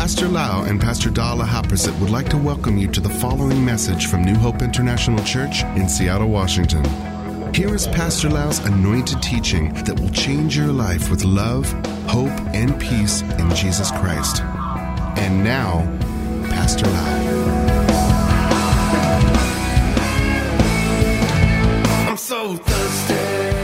Pastor Lau and Pastor Dala Haprasit would like to welcome you to the following message from New Hope International Church in Seattle, Washington. Here is Pastor Lau's anointed teaching that will change your life with love, hope, and peace in Jesus Christ. And now, Pastor Lau. I'm so thirsty.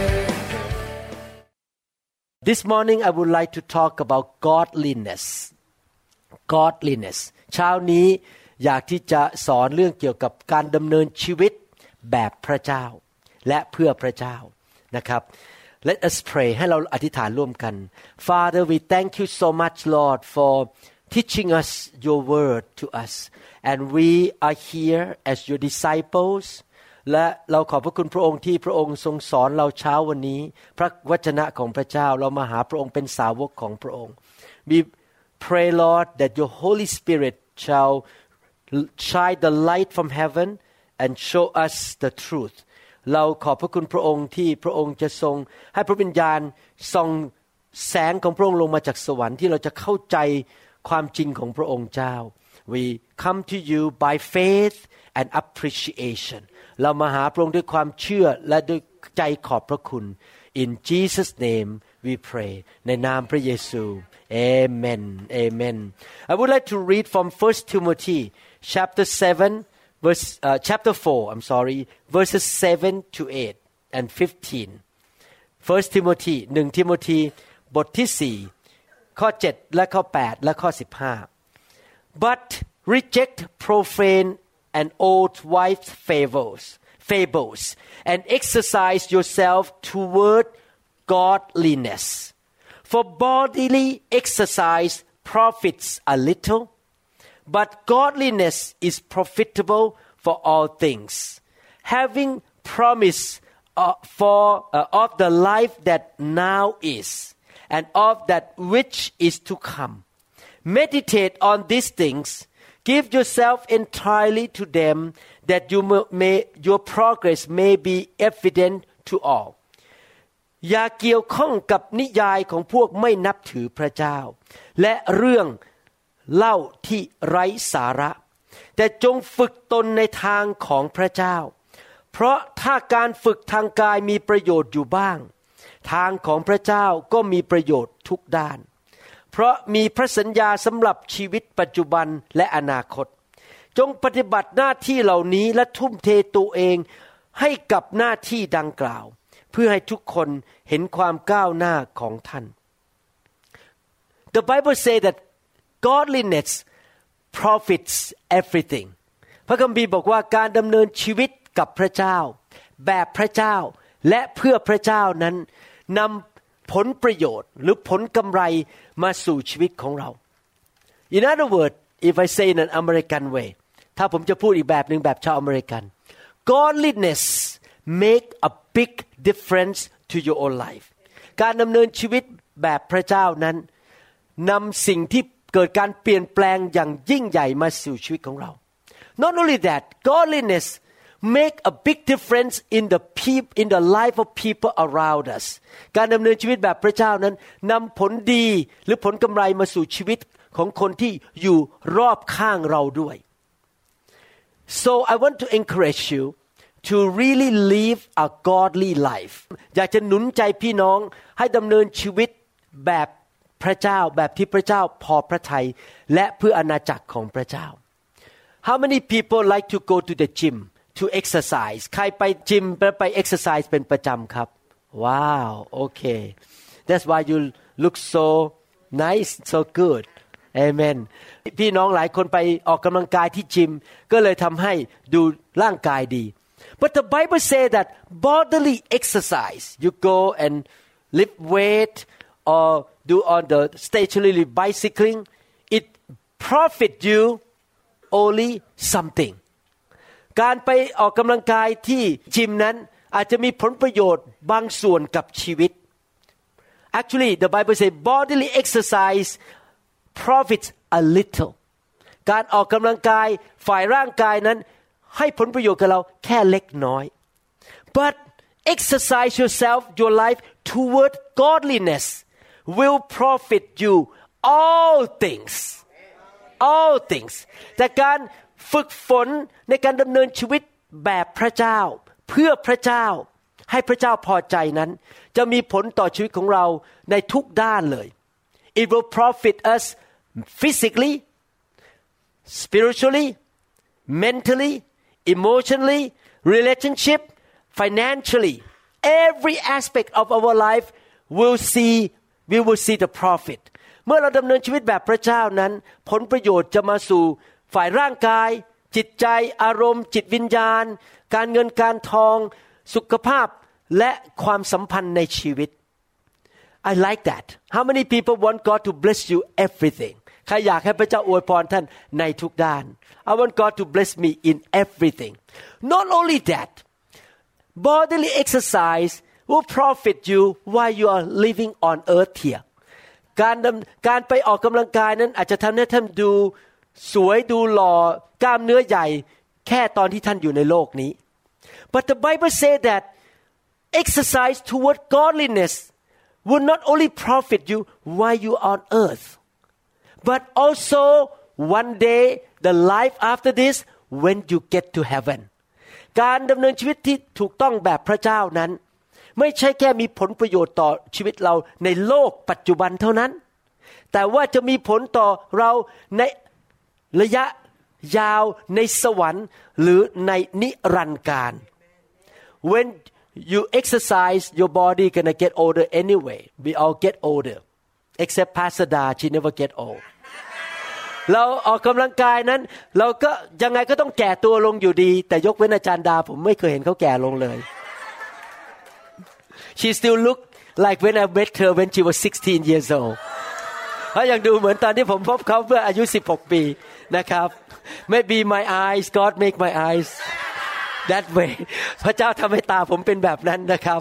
This morning I would like to talk about godliness. Godliness เช้านี้อยากที่จะสอนเรื่องเกี่ยวกับการดำเนินชีวิตแบบพระเจ้าและเพื่อพระเจ้านะครับ Let us pray ให้เราอธิษฐานร่วมกัน Father we thank you so much Lord for teaching us your word to us and we are here as your disciples และเราขอบพระคุณพระองค์ที่พระองค์ทรงสอนเราเช้าวันนี้พระวจนะของพระเจ้าเรามาหาพระองค์เป็นสาวกของพระองค์ We pray Lord that your Holy Spirit shall shine the light from heaven and show us the truth เราขอบพระคุณพระองค์ที่พระองค์จะทรงให้พระวิญญาณส่องแสงของพระองค์ลงมาจากสวรรค์ที่เราจะเข้าใจความจริงของพระองค์เจ้า We come to you by faith and appreciation เรามาหาพระองค์ด้วยความเชื่อและด้วยใจขอบพระคุณ In Jesus name we pray ในนามพระเยซู Amen Amen I would like to read from 1 Timothy chapter 4 verses 7 to 8 and 15 1 Timothy 1 Timothy บทที่4ข้อ7และข้อ8และข้อ15 But reject profane and old-wives' fables and exercise yourself toward godliness for bodily exercise profits a little but godliness is profitable for all things having promise of the life that now is and of that which is to come meditate on these things give yourself entirely to them that your progress may be evident to all อย่าเกี่ยวข้องกับนิยายของพวกไม่นับถือพระเจ้าและเรื่องเล่าที่ไร้สาระแต่จงฝึกตนในทางของพระเจ้าเพราะถ้าการฝึกทางกายมีประโยชน์อยู่บ้างทางของพระเจ้าก็มีประโยชน์ทุกด้านเพราะมีพระสัญญาสำหรับชีวิตปัจจุบันและอนาคตจงปฏิบัติหน้าที่เหล่านี้และทุ่มเทตัวเองให้กับหน้าที่ดังกล่าวเพื่อให้ทุกคนเห็นความก้าวหน้าของท่าน The Bible say that godliness profits everything พระคัมภีร์บอกว่าการดำเนินชีวิตกับพระเจ้าแบบพระเจ้าและเพื่อพระเจ้านั้นนำผลประโยชน์หรือผลกำไรมาสู่ชีวิตของเรา In other words if I say in an American way ถ้าผมจะพูดอีกแบบนึงแบบชาวอเมริกัน Godliness make a big difference to your own life การดำเนินชีวิตแบบพระเจ้านั้นนำสิ่งที่เกิดการเปลี่ยนแปลงอย่างยิ่งใหญ่มาสู่ชีวิตของเรา Not only that godliness make a big difference in the life of people around us การดำเนินชีวิตแบบพระเจ้านั้นนำผลดีหรือผลกำไรมาสู่ชีวิตของคนที่อยู่รอบข้างเราด้วย So I want to encourage you to really live a godly life อยากจะหนุนใจพี่น้องให้ดำเนินชีวิตแบบพระเจ้าแบบที่พระเจ้าพอพระทัยและเพื่ออาณาจักรของพระเจ้า How many people like to go to the gym to exercise ใครไปจิมไป exercise เป็นประจำครับ Wow okay that's why you look so nice so good Amen พี่น้องหลายคนไปออกกำลังกายที่จิมก็เลยทำให้ดูร่างกายดี But the Bible say that bodily exercise you go and lift weight or do on the stationary bicycling it profit you only something การไปออกกำลังกายที่จิมนั้นอาจจะมีผลประโยชน์บางส่วนกับชีวิต Actually the Bible say bodily exercise profits a little การออกกำลังกายฝ่ายร่างกายนั้นให้ผลประโยชน์กับเราแค่เล็กน้อย but exercise yourself your life toward godliness will profit you all things all things แต่การฝึกฝนในการดำเนินชีวิตแบบพระเจ้าเพื่อพระเจ้าให้พระเจ้าพอใจนั้นจะมีผลต่อชีวิตของเราในทุกด้านเลย It will profit us physically, spiritually, mentally, emotionally, relationship, financially. Every aspect of our life we will see the profit. เมื่อเราดำเนินชีวิตแบบพระเจ้านั้นผลประโยชน์จะมาสู่ฝ่ายร่างกายจิตใจอารมณ์จิตวิญญาณการเงินการทองสุขภาพและความสัมพันธ์ในชีวิต I like that. How many people want God to bless you everything? ใครอยากให้พระเจ้าอวยพรท่านในทุกด้าน I want God to bless me in everything. Not only that, bodily exercise will profit you while you are living on earth here. การไปออกกำลังกายนั้นอาจจะทำให้ท่านดูสวยดูหล่อกล้ามเนื้อใหญ่แค่ตอนที่ท่านอยู่ในโลกนี้ But the Bible says that exercise toward godliness will not only profit you while you are on earth, but also one day the life after this when you get to heaven. การดำเนินชีวิตที่ถูกต้องแบบพระเจ้านั้นไม่ใช่แค่มีผลประโยชน์ต่อชีวิตเราในโลกปัจจุบันเท่านั้นแต่ว่าจะมีผลต่อเราในระยะยาวในสวรรค์หรือในนิรันดร์การ When you exercise your body gonna get older anyway. We all get older except Pastor Da, she never get old. เราออกกำลังกายนั้นเราก็ยังไงก็ต้องแก่ตัวลงอยู่ดีแต่ยกเว้นอาจารย์ดาผมไม่เคยเห็นเขาแก่ลงเลย She still look like when I met her when she was 16 years old. เขายังดูเหมือนตอนที่ผมพบเขาเมื่ออายุ16ปีนะครับ Maybe my eyes God make my eyes that way พระเจ้าทำให้ตาผมเป็นแบบนั้นนะครับ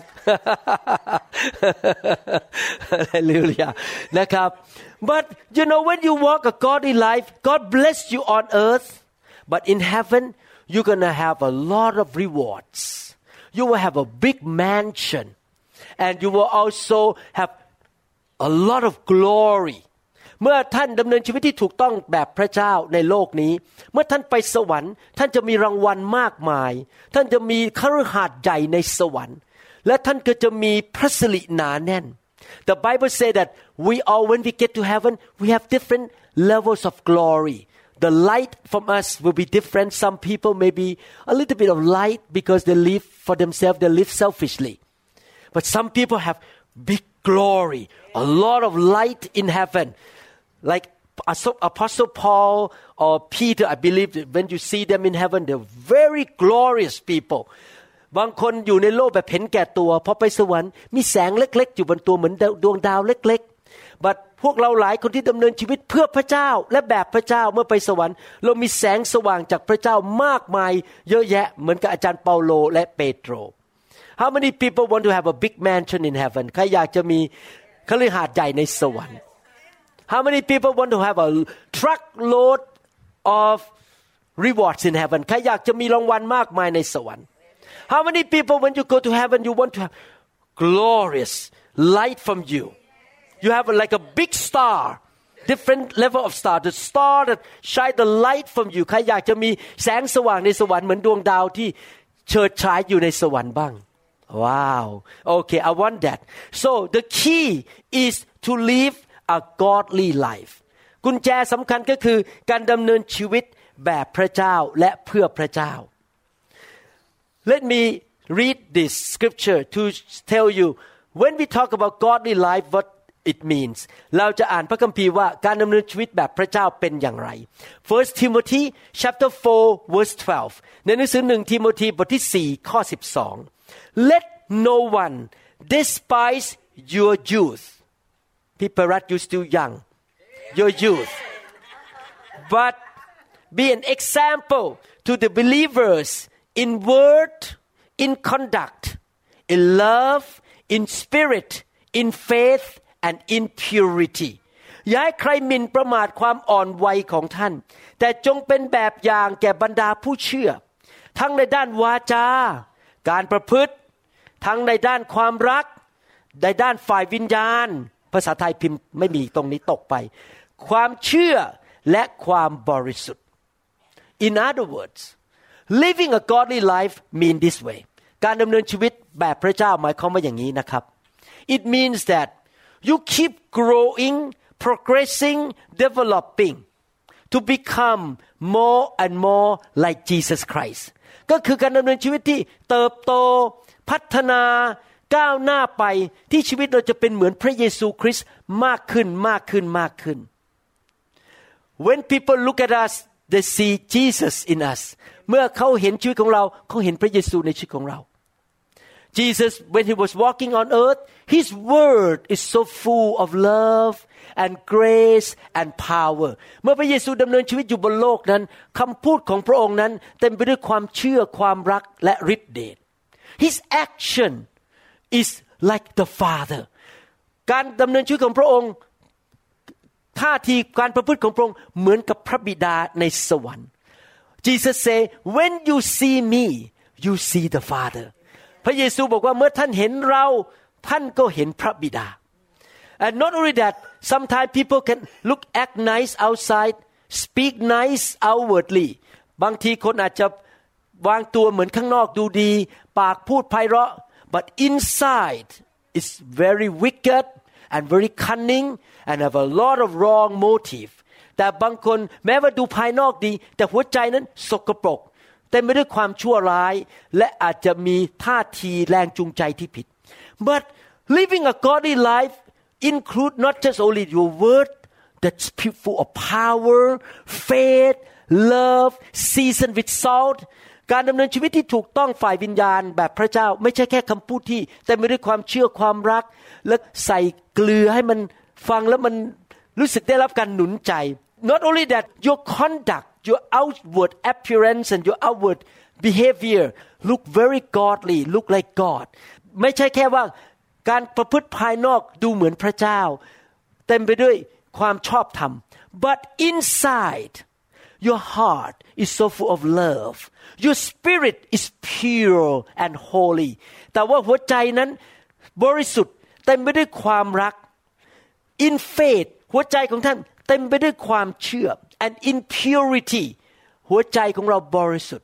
Hallelujah นะครับ But you know when you walk a godly life God bless you on earth but in heaven you're gonna have a lot of rewards you will have a big mansion and you will also have a lot of gloryเมื่อท่านดำเนินชีวิตที่ถูกต้องแบบพระเจ้าในโลกนี้เมื่อท่านไปสวรรค์ท่านจะมีรางวัลมากมายท่านจะมีคฤหาสน์ใหญ่ในสวรรค์และท่านก็จะมีพระสิริหนาแน่น The Bible say that we all when we get to heaven we have different levels of glory The light from us will be different some people may be a little bit of light because they live for themselves they live selfishly but some people have big glory a lot of light in heaven.Like Apostle Paul or Peter, I believe that when you see them in heaven, they're very glorious people. บางคนอยู่ในโลกแบบเห็นแก่ตัวพอไปสวรรค์มีแสงเล็กๆอยู่บนตัวเหมือนดวงดาวเล็กๆ But พวกเราหลายคนที่ดำเนินชีวิตเพื่อพระเจ้าและแบบพระเจ้าเมื่อไปสวรรค์เรามีแสงสว่างจากพระเจ้ามากมายเยอะแยะเหมือนกับอาจารย์เปาโลและเปโตร How many people want to have a big mansion in heaven ใครอยากจะมีคฤหาสน์ใหญ่ในสวรรค์ How many people want to have a truckload of rewards in heaven ใครอยากจะมีรางวัลมากมายในสวรรค์ How many people when you go to heaven you want to have glorious light from you You have like a big star different level of star the star that shine the light from you ใครอยากจะมีแสงสว่างในสวรรค์เหมือนดวงดาวที่เฉิดฉายอยู่ในสวรรค์บ้าง Wow okay I want that So the key is to live a godly life กุญแจสำคัญก็คือการดำเนินชีวิตแบบพระเจ้าและเพื่อพระเจ้า Let me read this scripture to tell you when we talk about godly life what it means เราจะอ่านพระคัมภีร์ว่าการดำเนินชีวิตแบบพระเจ้าเป็นอย่างไร First Timothy chapter 4 verse 12 ในหนังสือ1ทิโมธีบทที่4ข้อ12 Let no one despise your youth People that you still young your youth but be an example to the believers in word in conduct in love in spirit in faith and in purity อย่าให้ใครหมิ่นประมาทความอ่อนวัยของท่านแต่จงเป็นแบบอย่างแก่บรรดาผู้เชื่อทั้งในด้านวาจาการประพฤติทั้งในด้านความรักในด้านฝ่ายวิญญาณภาษาไทยพิมพ์ไม่มีตรงนี้ตกไปความเชื่อและความบริสุทธิ์ In other words, living a godly life mean this way การดำเนินชีวิตแบบพระเจ้าหมายความว่าอย่างนี้นะครับ It means that you keep growing, progressing, developing to become more and more like Jesus Christ ก็คือการดำเนินชีวิตที่เติบโตพัฒนาก้าวหน้าไปที่ชีวิตเราจะเป็นเหมือนพระเยซูคริสต์มากขึ้นมากขึ้นมากขึ้น When people look at us they see Jesus in us เมื่อเขาเห็นชีวิตของเราเขาเห็นพระเยซูในชีวิตของเรา Jesus when he was walking on earth his word is so full of love and grace and power เมื่อพระเยซูดำเนินชีวิตอยู่บนโลกนั้นคำพูดของพระองค์นั้นเต็มไปด้วยความเชื่อความรักและฤทธิ์เดช His action is like the Father การดำเนินชีวิตของพระองค์ท่าทีการประพฤติของพระองค์เหมือนกับพระบิดาในสวรรค์ Jesus say when you see me you see the Father พระเยซูบอกว่าเมื่อท่านเห็นเราท่านก็เห็นพระบิดา and not only that sometimes people can act nice outside speak nice outwardly บางทีคนอาจจะวางตัวเหมือนข้างนอกดูดีปากพูดไพเราะ but inside is very wicked and very cunning and have a lot of wrong motive แต่บางคนแม้ว่าดูภายนอกดีแต่หัวใจนั้นสกปรกเต็มไปด้วยความชั่วร้ายและอาจจะมีท่าทีแรงจูงใจที่ผิด but living a godly life include not just only your word that's full of power faith love seasoned with salt การดำเนินชีวิตที่ถูกต้องฝ่ายวิญญาณแบบพระเจ้าไม่ใช่แค่คำพูดที่แต่ไม่ด้วยความเชื่อความรักและใส่เกลือให้มันฟังแล้วมันรู้สึกได้รับการหนุนใจ Not only that your conduct your outward appearance and your outward behavior look very godly look like God ไม่ใช่แค่ว่าการประพฤติภายนอกดูเหมือนพระเจ้าเต็มไปด้วยความชอบธรรม but inside your heart is so full of love your spirit is pure and holy แต่ว่าหัวใจนั้นบริสุทธิ์เต็มไปด้วยความรัก in faith หัวใจของท่านเต็มไปด้วยความเชื่อ and in purity หัวใจของเราบริสุทธิ์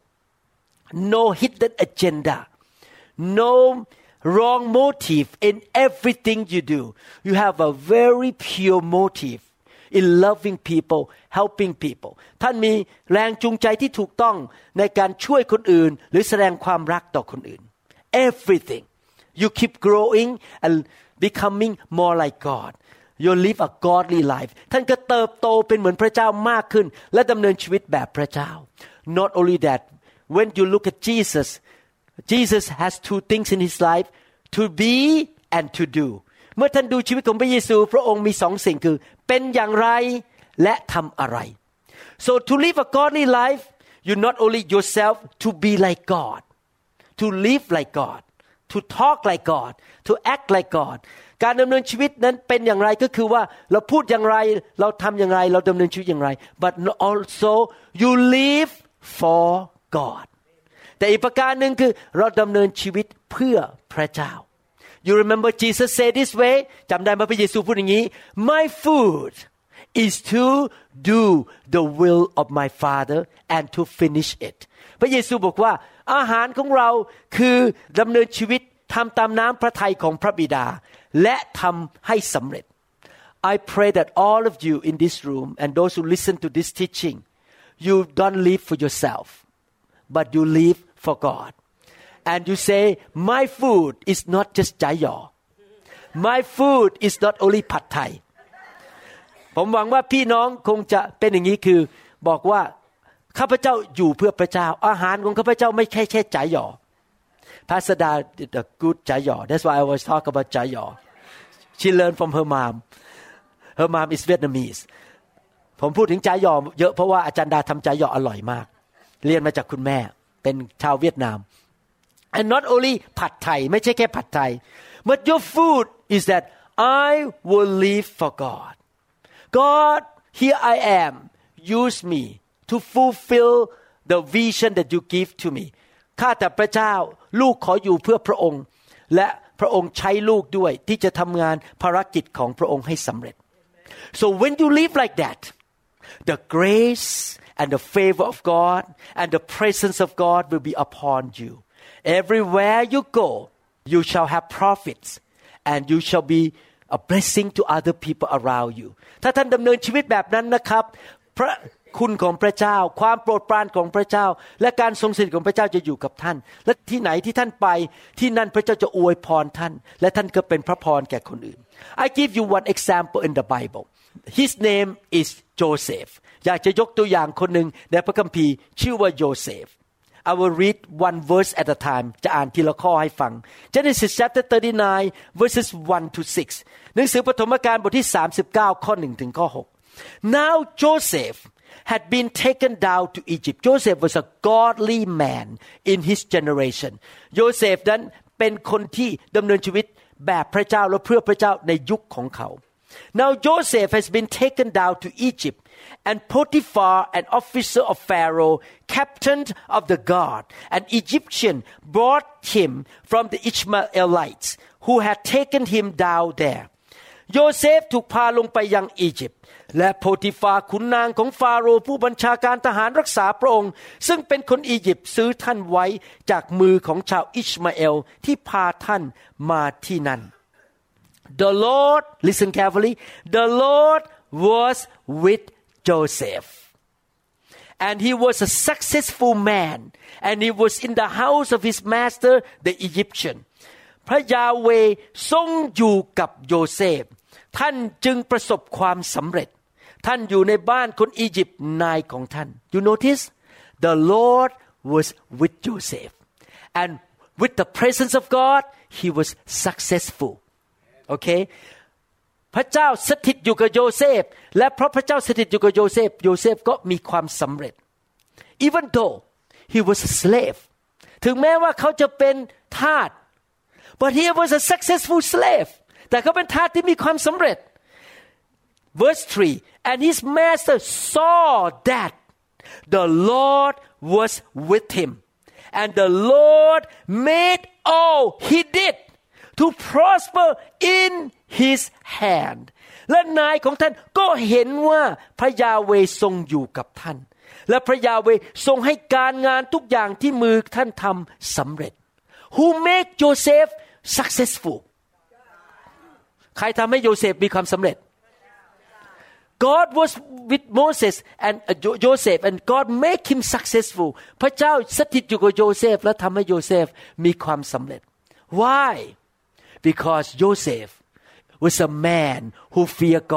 no hidden agenda no wrong motive in everything you do you have a very pure motive in loving people helping people ท่านมีแรงจูงใจที่ถูกต้องในการช่วยคนอื่นหรือแสดงความรักต่อคนอื่น everything you keep growing and becoming more like God you live a godly life ท่านก็เติบโตเป็นเหมือนพระเจ้ามากขึ้นและดำเนินชีวิตแบบพระเจ้า not only that when you look at Jesus has two things in his life to be and to do เมื่อท่านดูชีวิตของพระเยซูพระองค์มีสองสิ่งคือเป็นอย่างไรและทำอะไร so to live a godly life you not only yourself to be like God to live like God to talk like God to act like God การดำเนินชีวิตนั้นเป็นอย่างไรก็คือว่าเราพูดอย่างไรเราทำอย่างไรเราดำเนินชีวิตอย่างไร but also you live for God แต่อีกประการหนึ่งคือเราดำเนินชีวิตเพื่อพระเจ้า You remember Jesus said this way จำได้ไหมพระเยซูพูดอย่างนี้ My food is to do the will of my Father and to finish it พระเยซูบอกว่าอาหารของเราคือดำเนินชีวิตทำตามน้ำพระทัยของพระบิดาและทำให้สำเร็จ I pray that all of you in this room and those who listen to this teaching you don't live for yourself but you live for God and you say my food is not just จายอ my food is not only ผัดไทยผมหวังว่าพี่น้องคงจะเป็นอย่างนี้คือบอกว่าข้าพเจ้าอยู่เพื่อพระเจ้าอาหารของข้าพเจ้าไม่ใช่แค่จายอ Pastor Da did a good จายอ That's why I always talk about จายอ She learned from her mom Her mom is Vietnamese ผมพูดถึงจายอเยอะเพราะว่าอาจารย์ดาทำจายออร่อยมากเรียนมาจากคุณแม่เป็นชาวเวียดนาม And not only ผัดไทยไม่ใช่แค่ผัดไทย But your food is that I will live for God God here I am use me to fulfill the vision that you give to me ข้าแต่พระเจ้าลูกขออยู่เพื่อพระองค์และพระองค์ใช้ลูกด้วยที่จะทำงานภารกิจของพระองค์ให้สำเร็จ So when you live like that the grace and the favor of God and the presence of God will be upon you. Everywhere you go, you shall have profits and you shall be a blessing to other people around you. ถ้าท่านดำเนินชีวิตแบบนั้นนะครับพระคุณของพระเจ้าความโปรดปรานของพระเจ้าและการทรงสถิตของพระเจ้าจะอยู่กับท่านและที่ไหนที่ท่านไปที่นั่นพระเจ้าจะอวยพรท่านและท่านก็เป็นพระพรแก่คนอื่น I give you one example in the Bible. His name is Joseph. อยากจะยกตัวอย่างคนหนึ่งในพระคัมภีร์ชื่อว่าโยเซฟ I will read one verse at a time จะอ่านทีละข้อให้ฟัง Genesis chapter 39 verses 1 to 6 หนังสือปฐมกาลบทที่39ข้อ1ถึงข้อ6 Now Joseph had been taken down to Egypt. Joseph was a godly man in his generation. โยเซฟนั้นเป็นคนที่ดำเนินชีวิตแบบพระเจ้าและเพื่อพระเจ้าในยุคของเขา Now Joseph has been taken down to Egypt, and Potiphar, an officer of Pharaoh, captain of the guard, an Egyptian, brought him from the Ishmaelites who had taken him down there. โยเซฟถูกพาลงไปยังอียิปต์และโพติฟาขุนนางของฟาโรห์ผู้บัญชาการทหารรักษาพระองค์ซึ่งเป็นคนอียิปต์ซื้อท่านไว้จากมือของชาวอิชมาเอลที่พาท่านมาที่นั่น The Lord, listen carefully, the Lord was with Joseph, and he was a successful man, and he was in the house of his master, the Egyptian. พระยาเวห์ทรงอยู่กับโยเซฟท่านจึงประสบความสำเร็จท่านอยู่ในบ้านคนอียิปต์นายของท่าน You notice the Lord was with Joseph and with the presence of God he was successful Okay พระเจ้าสถิตอยู่กับโยเซฟและเพราะพระเจ้าสถิตอยู่กับโยเซฟโยเซฟก็มีความสำเร็จ Even though he was a slave ถึงแม้ว่าเขาจะเป็นทาสBut he was a successful slave. แต่เขาเป็นทาสที่มีความสำเร็จ Verse 3 And his master saw that the Lord was with him, and the Lord made all he did to prosper in his hand. และนายของท่านก็เห็นว่าพระยาเวห์ทรงอยู่กับท่านและพระยาเวห์ทรงให้การงานทุกอย่างที่มือท่านทำสำเร็จ Who made Joseph successful ใครทำให้โยเซฟมีความสำเร็จ God was with Moses and Joseph and God made him successful พระเจ้าสถิตอยู่กับโยเซฟและทำให้โยเซฟมีความสำเร็จ Why Because Joseph was a man who feared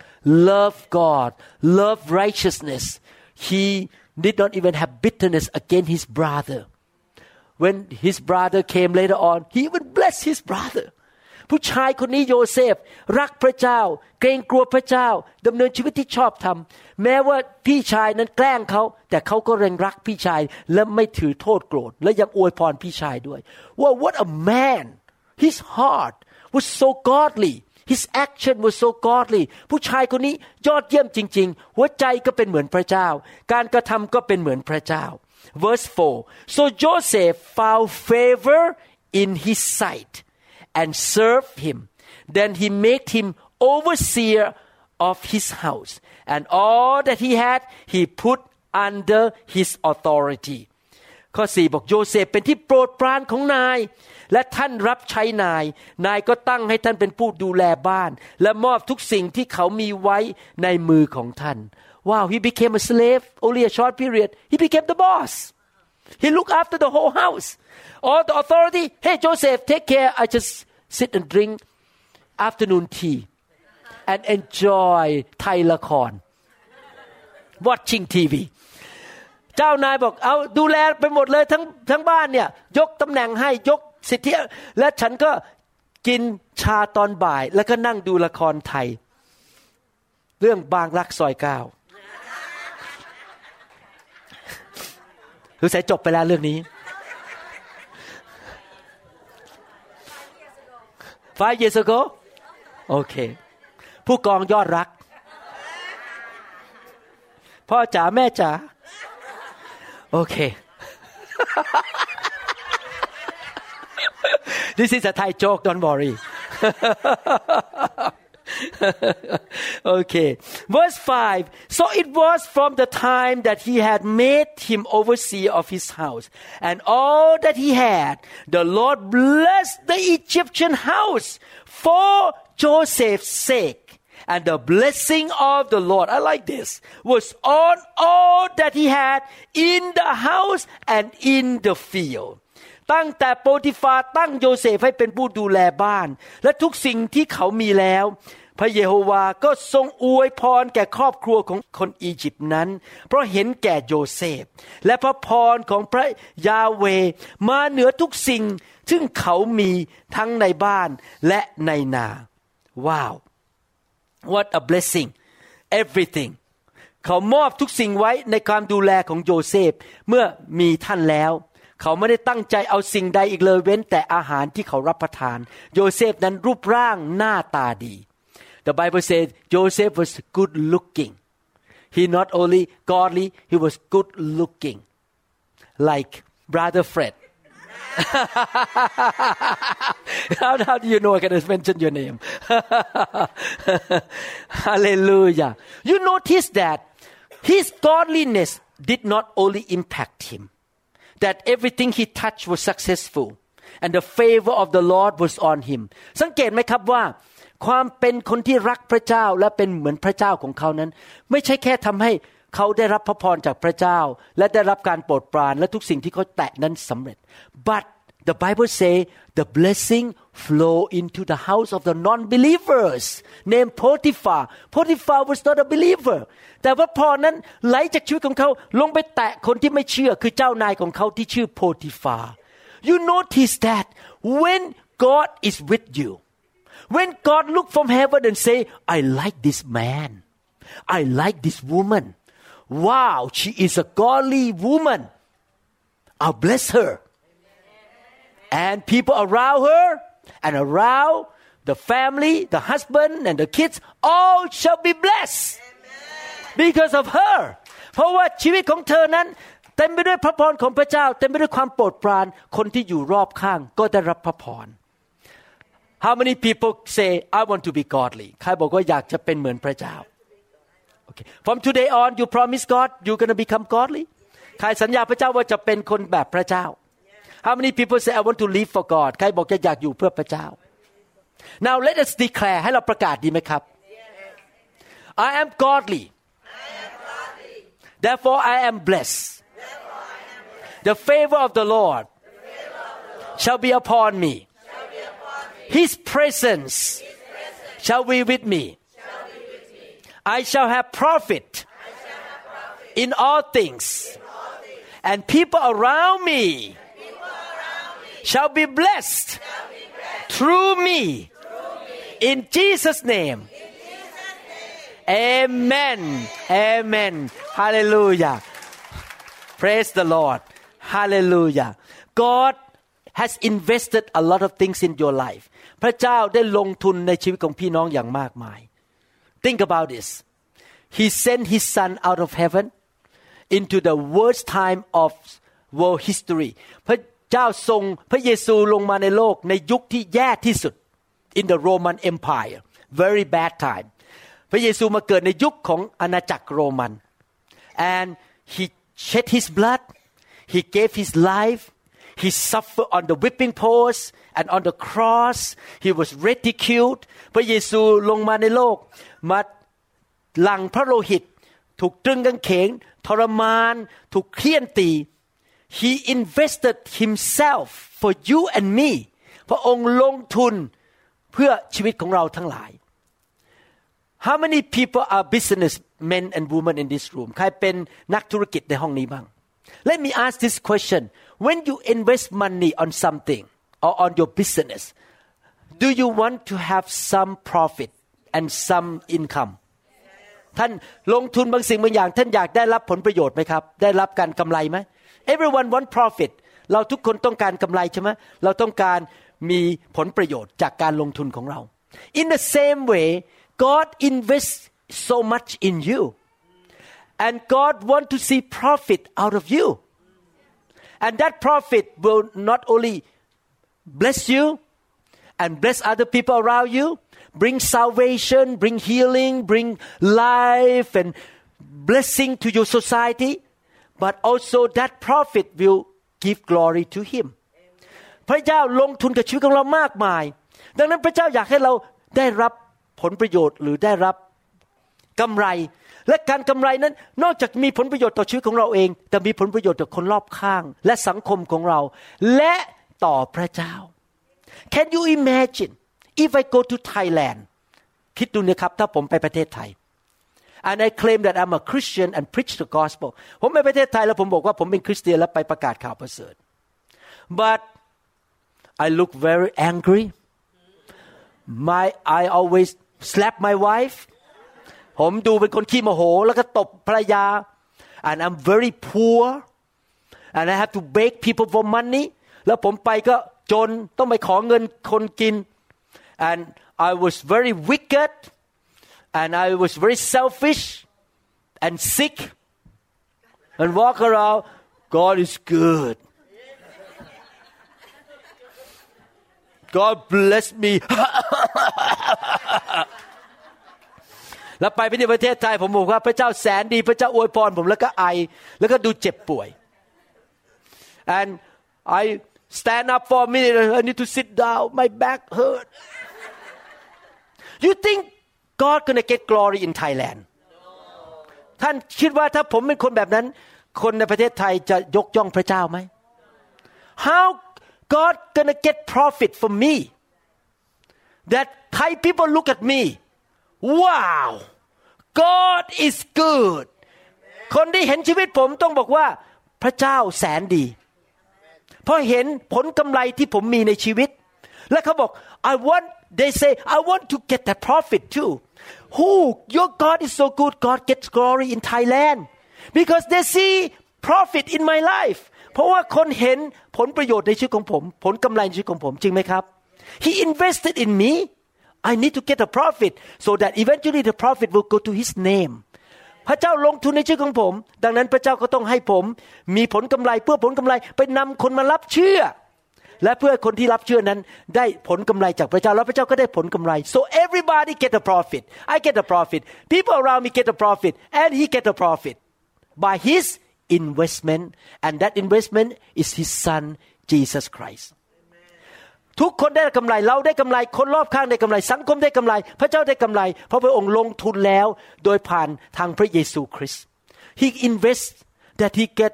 God loved righteousness he did not even have bitterness against his brother When his brother came later on, he even blessed his brother. ผู้ชายคนนี้โยเซฟรักพระเจ้าเกรงกลัวพระเจ้าดำเนินชีวิตที่ชอบธรรมแม้ว่าพี่ชายนั้นแกล้งเขาแต่เขาก็ยังรักพี่ชายและไม่ถือโทษโกรธและยังอวยพรพี่ชายด้วยว่า What a man! His heart was so godly. His action was so godly. ผู้ชายคนนี้ยอดเยี่ยมจริงๆหัวใจก็เป็นเหมือนพระเจ้าการกระทำก็เป็นเหมือนพระเจ้าVerse 4 So Joseph found favor in his sight and served him. Then he made him overseer of his house, and all that he had he put under his authority. ข้อ 4 บอกโยเซฟเป็นที่โปรดปรานของนายและท่านรับใช้นายก็ตั้งให้ท่านเป็นผู้ดูแลบ้านและมอบทุกสิ่งที่เขามีไว้ในมือของท่าน Wow, he became a slave only a short period. He became the boss. He looked after the whole house. All the authority. Hey, Joseph, take care. I just sit and drink afternoon tea and enjoy Thai ละคร watching TV. เจ้านายบอกเอาดูแลไปหมดเลยทั้งบ้านเนี่ยยกตำแหน่งให้ยกสิทธิและฉันก็กินชาตอนบ่ายแล้วก็นั่งดูละครไทยเรื่องบางรักซอย9รู้สึกจบไปแล้วเรื่องนี้ 5 years ago โอเคผู้กองยอดรักพ่อจ๋าแม่จ๋าโอเค This is a Thai joke don't worry โอเค Verse 5, so it was from the time that he had made him overseer of his house and all that he had, the Lord blessed the Egyptian house for Joseph's sake. And the blessing of the Lord, I like this, was on all that he had in the house and in the field. ตั้งแต่โปติฟาตั้งโยเซฟให้เป็นผู้ดูแลบ้านและทุกสิ่งที่เขามีแล้วพระเยโฮวาก็ทรงอวยพรแก่ครอบครัวของคนอียิปต์นั้นเพราะเห็นแก่โยเซฟและพระพรของพระยาเวห์มาเหนือทุกสิ่งซึ่งเขามีทั้งในบ้านและในนาว้าว What a blessing everything เขามอบทุกสิ่งไว้ในความดูแลของโยเซฟเมื่อมีท่านแล้วเขาไม่ได้ตั้งใจเอาสิ่งใดอีกเลยเว้นแต่อาหารที่เขารับประทานโยเซฟนั้นรูปร่างหน้าตาดี The Bible says Joseph was good looking. He not only godly, he was good looking. Like Brother Fred. How do you know I can mention your name? Hallelujah. You notice that his godliness did not only impact him, that everything he touched was successful, and the favor of the Lord was on him. สังเกตไหมครับว่าความเป็นคนที่รักพระเจ้าและเป็นเหมือนพระเจ้าของเขานั้นไม่ใช่แค่ทำให้เขาได้รับพระพรจากพระเจ้าและได้รับการโปรดปรานและทุกสิ่งที่เขาแตะนั้นสำเร็จ but the Bible say the blessing flow into the house of the non-believers named Potiphar was not a believer แต่พระพรนั้นไหลจากชีวิตของเขาลงไปแตะคนที่ไม่เชื่อคือเจ้านายของเขาที่ชื่อโพติฟา you notice that when God is with you,When God look from heaven and say, I like this man. I like this woman. Wow, she is a godly woman. I'll bless her. And people around her and around the family, the husband and the kids, all shall be blessed because of her. เพราะว่าชีวิตของเธอนั้นเต็มไปด้วยพระพรของพระเจ้าเต็มไปด้วยความโปรดปรานคนที่อยู่รอบข้างก็ได้รับพระพรHow many people say I want to be godly ใครบอกว่าอยากจะเป็นเหมือนพระเจ้า Okay. From today on you promise God you're going to become godly ใครสัญญาพระเจ้าว่าจะเป็นคนแบบพระเจ้า How many people say I want to live for God ใครบอกจะอยากอยู่เพื่อพระเจ้า Now let us declare ให้เราประกาศดีไหมครับ I am godly Therefore I am blessed The favor of the Lord shall be upon me.His presence shall be with me. I shall have profit in all things. And people around me shall be blessed through me. In Jesus' name. Amen. Amen. Hallelujah. Praise the Lord. Hallelujah. God.has invested a lot of things in your life พระเจ้าได้ลงทุนในชีวิตของพี่น้องอย่างมากมาย Think about this He sent His Son out of heaven into the worst time of world history พระเจ้าส่งพระเยซูลงมาในโลกในยุคที่แย่ที่สุด in the Roman Empire very bad time พระเยซูมาเกิดในยุคของอาณาจักรโรมัน and He shed His blood He gave His life He suffered on the whipping post and on the cross. He was ridiculed. พระเยซูลงมาในโลกมาหลั่งพระโลหิตถูกตรึงกางเขนทรมานถูกเฆี่ยนตี He invested himself for you and me. พระองค์ลงทุนเพื่อชีวิตของเราทั้งหลาย How many people are businessmen and women in this room ใครเป็นนักธุรกิจในห้องนี้บ้าง Let me ask this question.When you invest money on something or on your business, do you want to have some profit and some income? ท่านลงทุนบางสิ่งบางอย่างท่านอยากได้รับผลประโยชน์ไหมครับได้รับการกำไรไหม Everyone want profit เราทุกคนต้องการกำไรใช่ไหมเราต้องการมีผลประโยชน์จากการลงทุนของเรา In the same way, God invests so much in you, and God want to see profit out of you.And that profit will not only bless you and bless other people around you, bring salvation, bring healing, bring life and blessing to your society, but also that profit will give glory to him พระเจ้าลงทุนกับชีวิตของเรามากมายดังนั้นพระเจ้าอยากให้เราได้รับผลประโยชน์หรือได้รับกำไรและการกำไรนั้นนอกจากมีผลประโยชน์ต่อชีวิตของเราเองแต่มีผลประโยชน์ต่อคนรอบข้างและสังคมของเราและต่อพระเจ้า Can you imagine if I go to Thailand คิดดูนะครับถ้าผมไปประเทศไทย and I claim that I'm a Christian and preach the gospel ผมไปประเทศไทยแล้วผมบอกว่าผมเป็นคริสเตียนและไปประกาศข่าวประเสริฐ but I look very angry I always slap my wife ผมดูเป็นคนขี้โมโหแล้วก็ตบภรรยา and I'm very poor and I have to beg people for money แล้วผมไปก็จนต้องไปขอเงินคนกิน and I was very wicked and I was very selfish and sick and walk around God is good God bless me แล้วไปที่ประเทศไทยผมบอกว่าพระเจ้าแสนดีพระเจ้าอวยพรผมแล้วก็ไอแล้วก็ดูเจ็บป่วย and I stand up for a minute I need to sit down my back hurt you think God gonna get glory in Thailand ท่านคิดว่าถ้าผมเป็นคนแบบนั้นคนในประเทศไทยจะยกย่องพระเจ้าไหม How God gonna get profit from me that Thai people look at me wow God is good คนที่เห็นชีวิตผมต้องบอกว่าพระเจ้าแสนดีเพราะเห็นผลกำไรที่ผมมีในชีวิตและเขาบอก they say I want to get that profit too who your God is so good God gets glory in Thailand because they see profit in my life เพราะว่าคนเห็นผลประโยชน์ในชีวิตของผมผลกำไรในชีวิตของผมจริงไหมครับ He invested in me I need to get a profit so that eventually the profit will go to His name พระเจ้าลงทุนในชีวิตของผมดังนั้นพระเจ้าก็ต้องให้ผมมีผลกำไรเพื่อผลกำไรไปนำคนมารับเชื่อและเพื่อคนที่รับเชื่อนั้นได้ผลกำไรจากพระเจ้าแล้วพระเจ้าก็ได้ผลกำไร so everybody get a profit I get a profit people around me get a profit and he get a profit by his investment and that investment is his son Jesus Christ ทุกคนได้กำไรเราได้กำไรคนรอบข้างได้กำไรสังคมได้กำไรพระเจ้าได้กำไรเพราะพระองค์ลงทุนแล้วโดยผ่านทางพระเยซูคริสต์ He invests that he get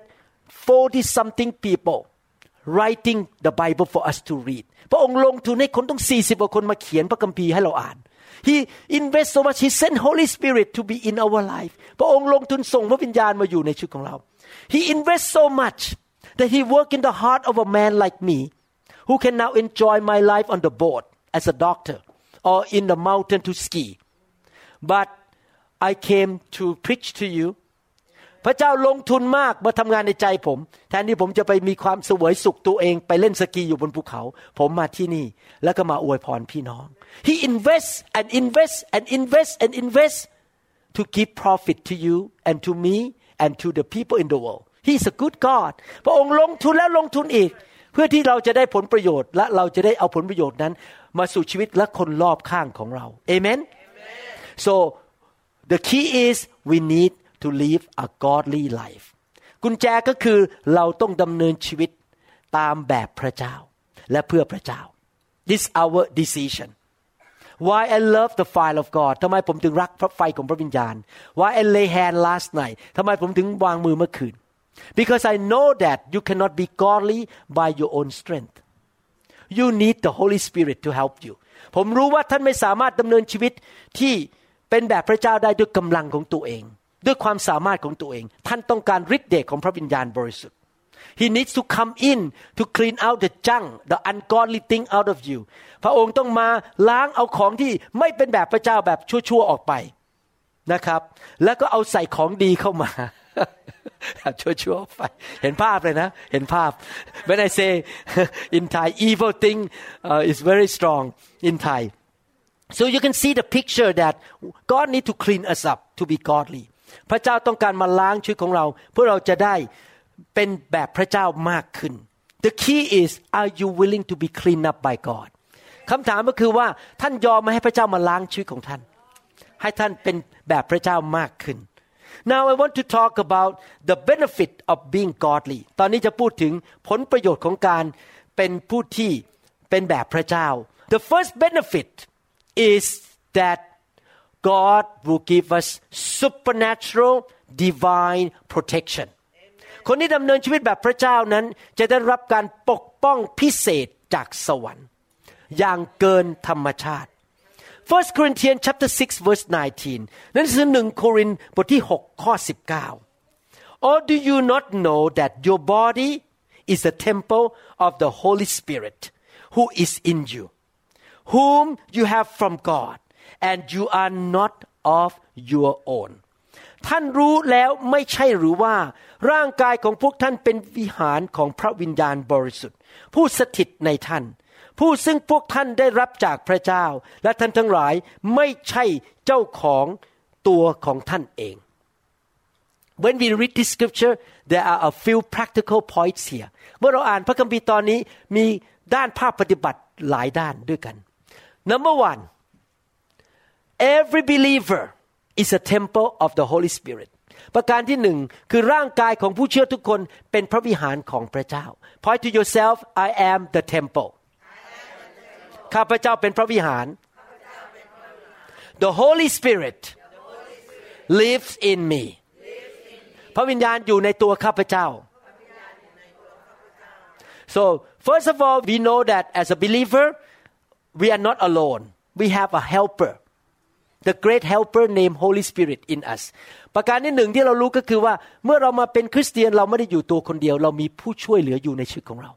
40 something people writing the Bible for us to read พระองค์ลงทุนให้คนต้อง40กว่าคนมาเขียนพระคัมภีร์ให้เราอ่าน He invests so much He sent Holy Spirit to be in our life พระองค์ลงทุนส่งพระวิญญาณมาอยู่ในชีวิตของเรา He invests so much that He work in the heart of a man like me who can now enjoy my life on the boat as a doctor or in the mountain to ski but I came to preach to you พระเจ้าลงทุนมากมาทำงานในใจผมแทนที่ผมจะไปมีความเสวยสุขตัวเองไปเล่นสกีอยู่บนภูเขาผมมาที่นี่แล้วก็มาอวยพรพี่น้อง He invests and invests and invests and invests to give profit to you and to me and to the people in the world He's a good God พระองค์ลงทุนแล้วลงทุนอีกเพื่อที่เราจะได้ผลประโยชน์และเราจะได้เอาผลประโยชน์นั้นมาสู่ชีวิตและคนรอบข้างของเรา Amen So the key is we need to live a godly life กุญแจก็คือเราต้องดำเนินชีวิตตามแบบพระเจ้าและเพื่อพระเจ้า This is our decision Why I love the fire of God ทำไมผมถึงรักพระไฟของพระวิญญาณ Why I lay hand last night ทำไมผมถึงวางมือเมื่อคืนBecause I know that you cannot be godly by your own strength. You need the Holy Spirit to help you. ผมรู้ว่าท่านไม่สามารถดำเนินชีวิตที่เป็นแบบพระเจ้าได้ด้วยกำลังของตัวเองด้วยความสามารถของตัวเองท่านต้องการฤทธิ์เดชของพระวิญญาณบริสุทธิ์ He needs to come in to clean out the junk, the ungodly thing out of you. พระองค์ต้องมาล้างเอาของที่ไม่เป็นแบบพระเจ้าแบบชั่วๆออกไปนะครับแล้วก็เอาใส่ของดีเข้ามาชั่วๆไปเห็นภาพเลยนะเห็นภาพ When I say in Thai evil thing is very strong in Thai so you can see the picture that God need to clean us up to be godly พระเจ้าต้องการมาล้างชีวิตของเราเพื่อเราจะได้เป็นแบบพระเจ้ามากขึ้น The key is are you willing to be cleaned up by God คคำถามก็คือว่าท่านยอมมาให้พระเจ้ามาล้างชีวิตของท่านให้ท่านเป็นแบบพระเจ้ามากขึ้น Now I want to talk about the benefit of being godly ตอนนี้จะพูดถึงผลประโยชน์ของการเป็นผู้ที่เป็นแบบพระเจ้า The first benefit is that God will give us supernatural divine protection คนที่ดำเนินชีวิตแบบพระเจ้านั้นจะได้รับการปกป้องพิเศษจากสวรรค์อย่างเกินธรรมชาติ 1 Corinthians chapter 6 verse 19 นั่นคือ1โครินธ์บทที่6ข้อ19 Or do you not know that your body is the temple of the Holy Spirit who is in you whom you have from God and you are not of your own ท่านรู้แล้วไม่ใช่หรือว่าร่างกายของพวกท่านเป็นวิหารของพระวิญญาณบริสุทธิ์ผู้สถิตในท่านผู้ซึ่งพวกท่านได้รับจากพระเจ้าและท่านทั้งหลายไม่ใช่เจ้าของตัวของท่านเอง When we read this scripture there are a few practical points here เมื่อเราอ่านพระคัมภีร์ตอนนี้มีด้านภาคปฏิบัติหลายด้านด้วยกัน Number 1 Every believer is a temple of the Holy Spirit ประการที่หนึ่งคือร่างกายของผู้เชื่อทุกคนเป็นพระวิหารของพระเจ้า Point to yourself I am the temple ข้าพเจ้าเป็นพระวิหาร The Holy Spirit lives in me พระวิญญาณอยู่ในตัวข้าพเจ้า So first of all we know that as a believer we are not alone we have a helper the great helper named Holy Spirit in us ประการที่หนึ่งที่เรารู้ก็คือว่าเมื่อเรามาเป็นคริสเตียนเราไม่ได้อยู่ตัวคนเดียวเรามีผู้ช่วยเหลืออยู่ในชีวิตของเรา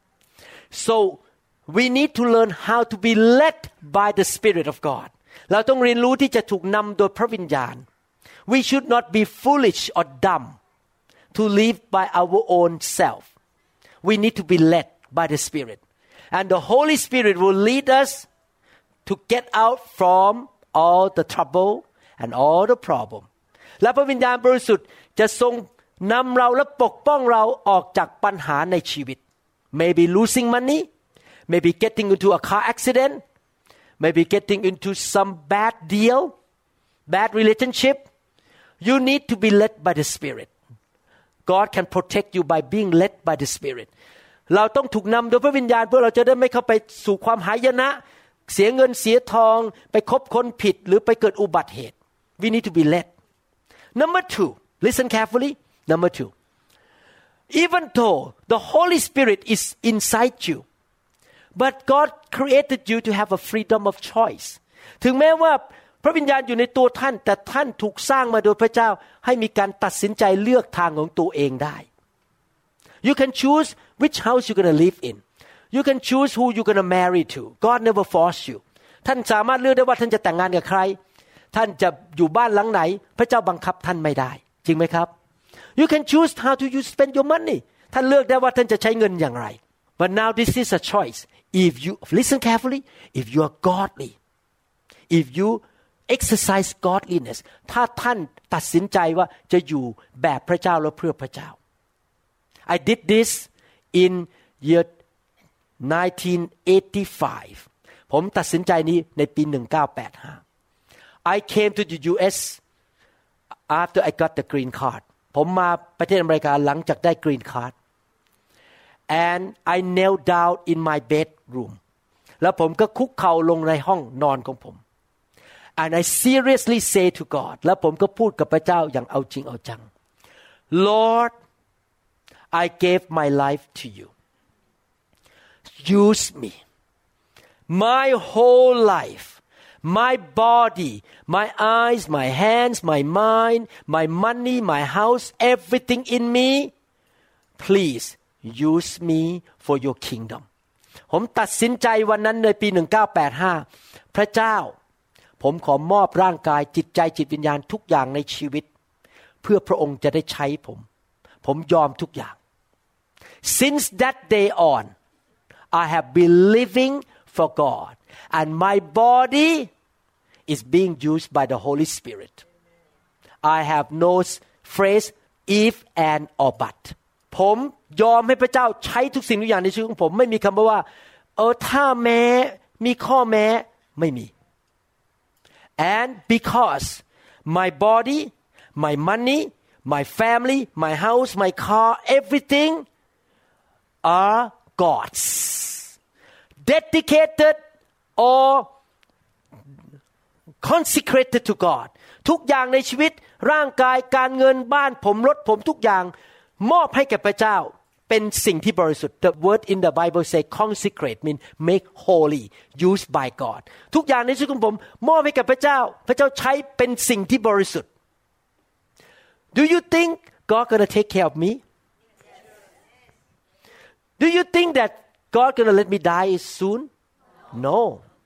So we need to learn how to be led by the Spirit of God เราต้องเรียนรู้ที่จะถูกนำโดยพระวิญญาณ We should not be foolish or dumb to live by our own self We need to be led by the Spirit and the Holy Spirit will lead us to get out from all the trouble and all the problem และพระวิญญาณบริสุทธิ์จะทรงนำเราและปกป้องเราออกจากปัญหาในชีวิต Maybe losing money Maybe getting into a car accident Maybe getting into some bad deal bad relationship You need to be led by the Spirit God can protect you by being led by the Spirit เราต้องถูกนำโดยพระวิญญาณเพื่อเราจะได้ไม่เข้าไปสู่ความหายนะเสียเงินเสียทองไปคบคนผิดหรือไปเกิดอุบัติเหตุ We need to be led Number 2 Listen carefully Number 2 Even though the Holy Spirit is inside you but God created you to have a freedom of choice ถึงแม้ว่าพระวิญญาณอยู่ในตัวท่านแต่ท่านถูกสร้างมาโดยพระเจ้าให้มีการตัดสินใจเลือกทางของตัวเองได้ You can choose which house you're going to live in You can choose who you're going to marry to God never force you ท่านสามารถเลือกได้ว่าท่านจะแต่งงานกับใครท่านจะอยู่บ้านหลังไหนพระเจ้าบังคับท่านไม่ได้จริงไหมครับ You can choose how to you spend your money ท่านเลือกได้ว่าท่านจะใช้เงินอย่างไร But now this is a choice if you listen carefully if you are godly if you exercise godliness ถ้าท่านตัดสินใจว่าจะอยู่แบบพระเจ้าและเพื่อพระเจ้า I did this in year 1985 ผมตัดสินใจนี้ในปี 1985 I came to the US after I got the green card ผมมาประเทศอเมริกาหลังจากได้ green card and I knelt down in my bedroom แล้วผมก็คุกเข่าลงในห้องนอนของผม and I seriously say to God แล้วผมก็พูดกับพระเจ้าอย่างเอาจริงเอาจัง Lord I gave my life to you use me my whole life my body my eyes my hands my mind my money my house everything in me please use me for your kingdom ผมตัดสินใจวันนั้นในปี1985พระเจ้าผมขอมอบร่างกายจิตใจจิตวิญญาณทุกอย่างในชีวิตเพื่อพระองค์จะได้ใช้ผมยอมทุกอย่าง Since that day on I have been living for God and my body is being used by the Holy Spirit I have no phrase if and or but ผมยอมให้พระเจ้าใช้ทุกสิ่งทุกอย่างในชีวิตของผมไม่มีคำว่าถ้าแม้มีข้อแม้ไม่มี and because my body my money my family my house my car everything are God's dedicated or consecrated to God ทุกอย่างในชีวิตร่างกายการเงินบ้านผมรถผมทุกอย่างมอบให้แก่พระเจ้าเป็นสิ่งที่บริสุทธิ์ The word in the Bible say consecrate mean make holy used by God ทุกอย่างในชีวิตของผมมอบให้แก่พระเจ้าพระเจ้าใช้เป็นสิ่งที่บริสุทธิ์ Do you think God gonna take care of me? Do you think that God gonna let me die soon? No.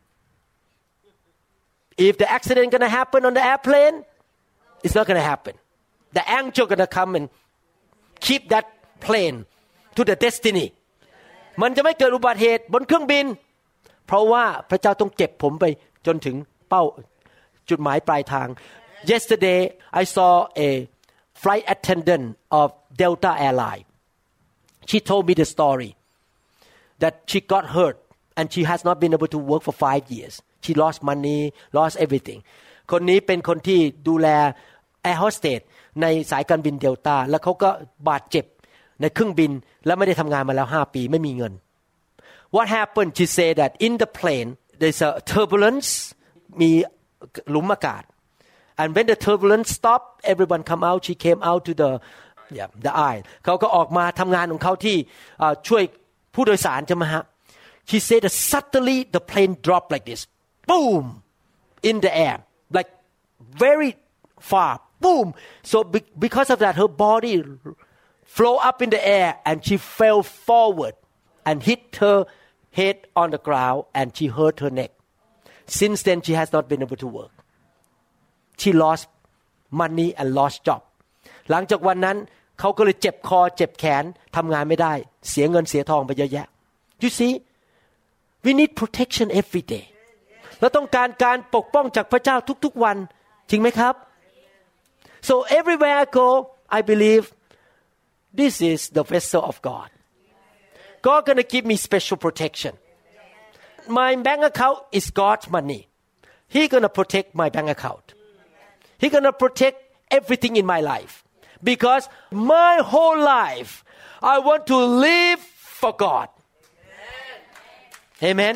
If the accident gonna happen on the airplane, it's not gonna happen. The angel gonna come and keep that plane to the destiny. มันจะไม่เกิดอุบัติเหตุบนเครื่องบินเพราะว่าพระเจ้าต้องเก็บผมไปจนถึงเป้าจุดหมายปลายทาง Yesterday I saw a flight attendant of Delta Airline. She told me the story that she got hurt and she has not been able to work for 5 years. She lost money, lost everything. คนนี้เป็นคนที่ดูแล Air Hostess ในสายการบินเดลต้าแล้วเขาก็บาดเจ็บในเครื่องบินแล้วไม่ได้ทำงานมาแล้ว5 ปีไม่มีเงิน What happened? She said that in the plane there's a turbulence มีหลุมอากาศ and when the turbulence stopped everyone come out she came out to the aisle เขาก็ออกมาทำงานของเขาที่ช่วยผู้โดยสารใช่ไหมฮะ She said that suddenly the plane dropped like this boom in the air like very far boom so because of that her body flow up in the air and she fell forward and hit her head on the ground and she hurt her neck. Since then she has not been able to work. She lost money and lost job. หลังจากวันนั้นเขาก็เลยเจ็บคอเจ็บแขนทำงานไม่ได้เสียเงินเสียทองไปเยอะแยะ You see, we need protection every day. เราต้องการปกป้องจากพระเจ้าทุกๆวันจริงไหมครับ So everywhere I go, I believe.This is the vessel of God. God gonna give me special protection. My bank account is God's money. He gonna protect my bank account. He gonna protect everything in my life. Because my whole life, I want to live for God. Amen.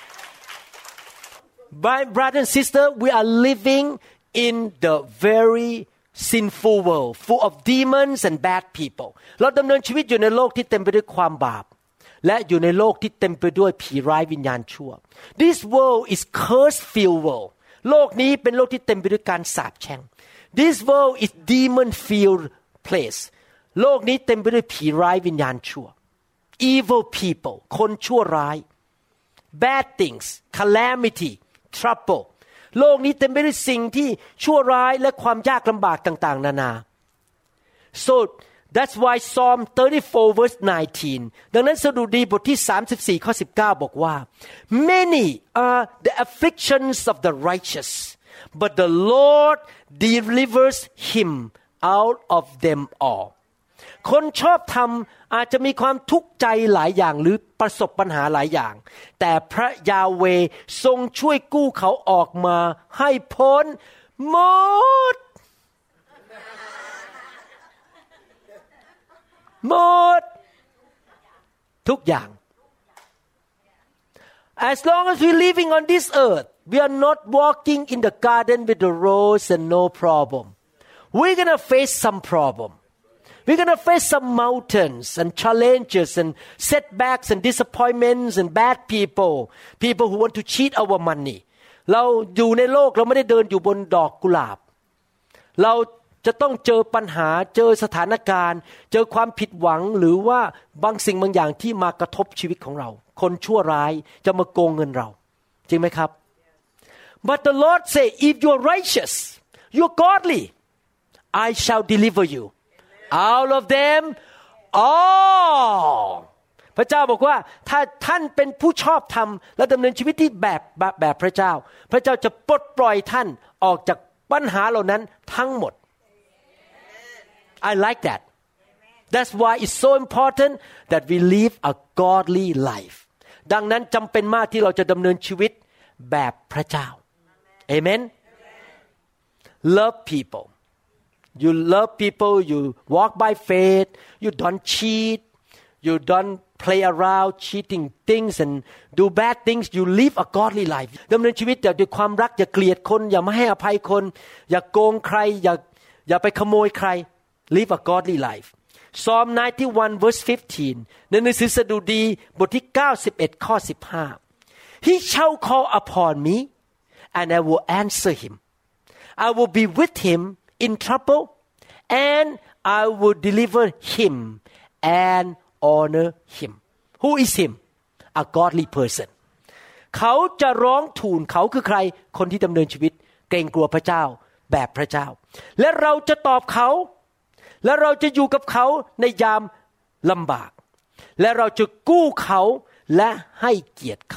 My brother and sister, we are living in the very sinful world full of demons and bad people เราดำเนินชีวิตอยู่ในโลกที่เต็มไปด้วยความบาปและอยู่ในโลกที่เต็มไปด้วยผีร้ายวิญญาณชั่ว This world is curse-filled world โลกนี้เป็นโลกที่เต็มไปด้วยการสาปแช่ง This world is demon-filled place โลกนี้เต็มไปด้วยผีร้ายวิญญาณชั่ว Evil people คนชั่วร้าย Bad things calamity troubleโลกนี้เต็มไปด้วยสิ่งที่ชั่วร้ายและความยากลำบากต่างๆนานา So that's why Psalm 34 verse 19 ดังนั้นสดุดีบทที่34ข้อ19บอกว่า Many are the afflictions of the righteous but the Lord delivers him out of them all คนชอบธรรมอาจจะมีความทุกข์ใจหลายอย่างหรือประสบปัญหาหลายอย่างแต่พระยาเวห์ทรงช่วยกู้เขาออกมาให้พ้นหมดทุกอย่าง As long as we're living on this earth we are not walking in the garden with the rose and no problem we're gonna face some problem.We're going to face some mountains and challenges and setbacks and disappointments and bad people who want to cheat our money เราอยู่ในโลกเราไม่ได้เดินอยู่บนดอกกุหลาบเราจะต้องเจอปัญหาเจอสถานการณ์เจอความผิดหวังหรือว่าบางสิ่งบางอย่างที่มากระทบชีวิตของเราคนชั่วร้ายจะมาโกงเงินเราจริงไหมครับ But the Lord say if you're righteous you're godly I shall deliver you all of them all พระเจ้าบอกว่าถ้าท่านเป็นผู้ชอบธรรมและดำเนินชีวิตที่แบบพระเจ้าพระเจ้าจะปลดปล่อยท่านออกจากปัญหาเหล่านั้นทั้งหมด I like that That's why it's so important that we live a godly life ดังนั้นจำเป็นมากที่เราจะดำเนินชีวิตแบบพระเจ้าเอเมน Love people you love people you walk by faith you don't cheat you don't play around cheating things and do bad things you live a godly life ดำเนินชีวิตด้วยความรักอย่าเกลียดคนอย่าไม่ให้อภัยคนอย่าโกงใครอย่าไปขโมยใคร live a godly life Psalm 91 verse 15 ในหนังสือสดุดีบทที่91ข้อ15 He shall call upon me and I will answer him I will be with him in trouble and I will deliver him and honor him Who is him a godly person เขาจะร้องทูลเขาคือใครคนที่ดำเนินชีวิตเกรงกลัวพระเจ้าแบบพระเจ้าและเราจะตอบเขาและเราจะอยู่กับเขาในยามลำบากและเราจะกู้เขาและให้เกียรติเขา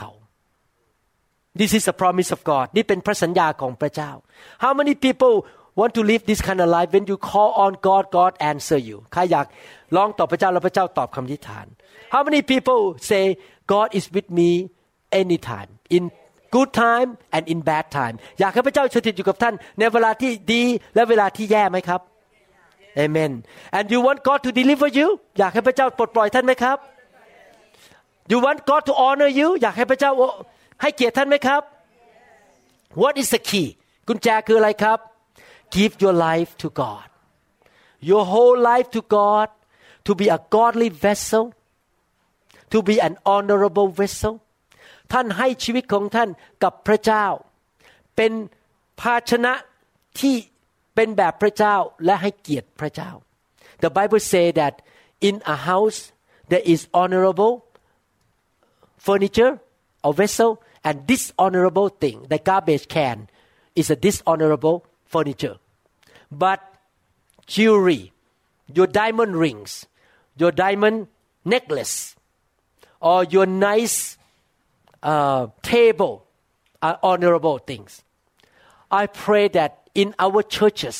This is a promise of God นี่เป็นพระสัญญาของพระเจ้า How many people want to live this kind of life when you call on God God answer you ใครอยากร้องต่อพระเจ้าแล้วพระเจ้าตอบคำอธิษฐาน How many people say God is with me anytime in good time and in bad time อยากให้พระเจ้าสถิตอยู่กับท่านในเวลาที่ดีและเวลาที่แย่ไหมครับ Amen and you want God to deliver you อยากให้พระเจ้าปลดปล่อยท่านไหมครับ You want God to honor you อยากให้พระเจ้าให้เกียรติท่านไหมครับ What is the key กุญแจคืออะไรครับ Give your life to God your whole life to God to be a godly vessel to be an honorable vessel ท่านให้ชีวิตของท่านกับพระเจ้าเป็นภาชนะที่เป็นแบบพระเจ้าและให้เกียรติพระเจ้า The Bible say that in a house there is honorable furniture or vessel and dishonorable thing the garbage can is a dishonorable furniture but jewelry your diamond rings your diamond necklace or your nice table are honorable things I pray that in our churches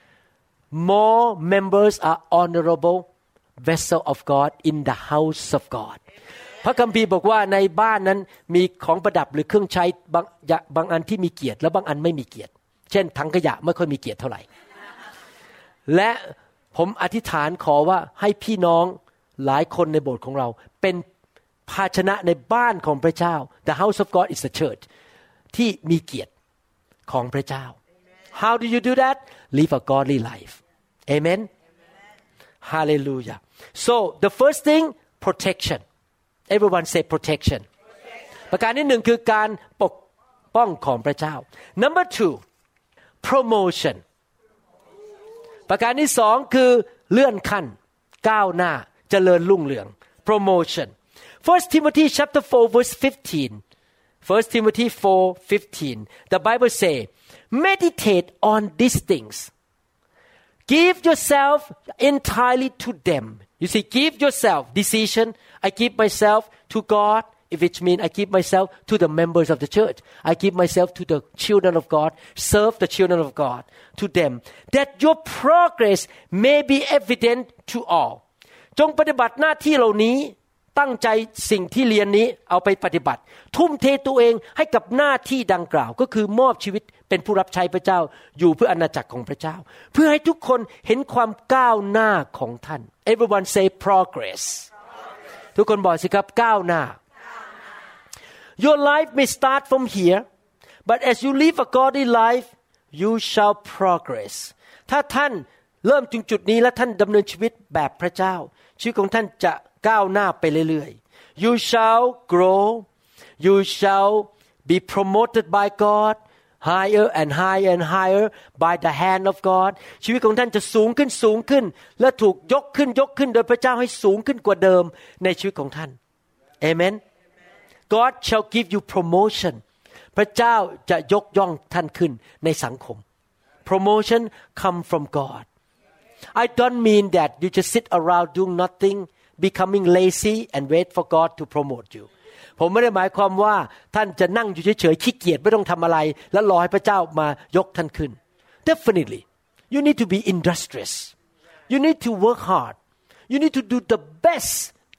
more members are honorable vessel of God in the house of God พระคัมภีร์บอกว่าในบ้านนั้นมีของประดับหรือเครื่องใช้บางอันที่มีเกียรติและบางอันไม่มีเกียรติเช่นถังขยะไม่ค่อยมีเกียรติเท่าไหร่และผมอธิษฐานขอว่าให้พี่น้องหลายคนในโบสถ์ของเราเป็นภาชนะในบ้านของพระเจ้า The house of God is the church ที่มีเกียรติของพระเจ้า How do you do that? Live a godly life. Amen. Hallelujah. So the first thing protection. Everyone say protection. ประการที่หนึ่งคือการปกป้องของพระเจ้า Number 2 promotion ประการที่สองคือเลื่อนขั้นก้าวหน้าเจริญรุ่งเรือง promotion 1 Timothy chapter 4 verse 15 1 Timothy 4:15 the Bible say meditate on these things give yourself entirely to them you see give yourself decision I give myself to God which means I give myself to the members of the church I give myself to the children of God serve the children of God to them that your progress may be evident to all จงปฏิบัติหน้าที่เหล่านี้ตั้งใจสิ่งที่เรียนนี้เอาไปปฏิบัติทุ่มเทตัวเองให้กับหน้าที่ดังกล่าวก็คือมอบชีวิตเป็นผู้รับใช้พระเจ้าอยู่เพื่ออาณาจักรของพระเจ้าเพื่อให้ทุกคนเห็นความก้าวหน้าของท่าน Everyone say progress ทุกคนบอกสิครับก้าวหน้า Your life may start from here but as you live a godly life you shall progress ถ้าท่านเริ่มถึงจุดนี้และท่านดำเนินชีวิตแบบพระเจ้าชีวิตของท่านจะก้าวหน้าไปเรื่อยๆ You shall grow you shall be promoted by God higher and higher and higher by the hand of God ชีวิตของท่านจะสูงขึ้นสูงขึ้นและถูกยกขึ้นยกขึ้นโดยพระเจ้าให้สูงขึ้นกว่าเดิมในชีวิตของท่าน Amen God shall give you promotion พระเจ้าจะยกย่องท่านขึ้นในสังคม Promotion come from God I don't mean that you just sit around doing nothing becoming lazy and wait for God to promote you ผมไม่ได้หมายความว่าท่านจะนั่งอยู่เฉยๆขี้เกียจไม่ต้องทำอะไรแล้วรอให้พระเจ้ามายกท่านขึ้น Definitely you need to be industrious you need to work hard you need to do the best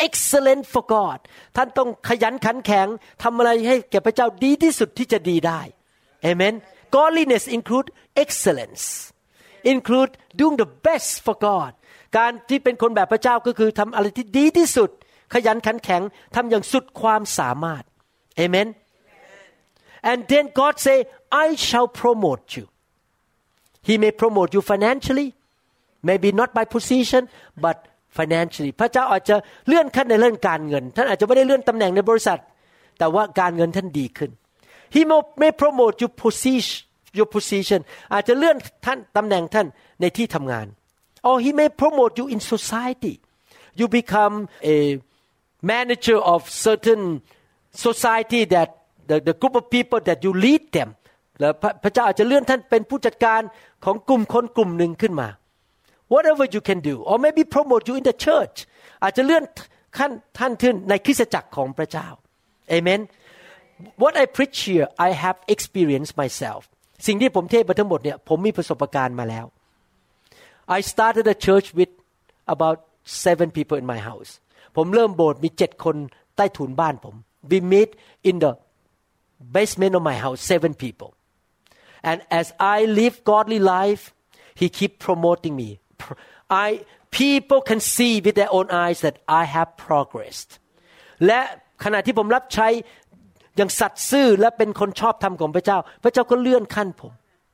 excellent for God ท่านต้องขยันขันแข็งทำอะไรให้แก่พระเจ้าดีที่สุดที่จะดีได้ Amen Godliness include excellence include doing the best for God การที่เป็นคนแบบพระเจ้าก็คือทำอะไรที่ดีที่สุดขยันขันแข็งทำอย่างสุดความสามารถ Amen and then God say I shall promote you He may promote you financially maybe not by position but financially พระเจ้าอาจจะเลื่อนขั้นในเรื่องการเงินท่านอาจจะไม่ได้เลื่อนตำแหน่งในบริษัทแต่ว่าการเงินท่านดีขึ้น He may promote your position อาจจะเลื่อนท่านตำแหน่งท่านในที่ทำงาน or He may promote you in society you become a manager of certain society that the group of people that you lead them แล้วพระเจ้าอาจจะเลื่อนท่านเป็นผู้จัดการของกลุ่มคนกลุ่มหนึ่งขึ้นมา whatever you can do or maybe promote you in the church อาจจะเลื่อนท่านขึ้นในคริสตจักรของพระเจ้า Amen What I preach here I have experienced myself สิ่งที่ผมเทศน์ไปทั้งหมดเนี่ยผมมีประสบการณ์มาแล้ว I started a church with about 7 people in my house ผมเริ่มโบสถ์มี7คนใต้ถุนบ้านผม We meet in the basement of my house 7 people and as I live godly life He keep promoting me people can see with their own eyes that I have progressed และขณะที่ผมรับใช้อย่างสัตย์ซื่อและเป็นคนชอบธรรมของพระเจ้าพระเจ้าก็เลื่อนขั้นผม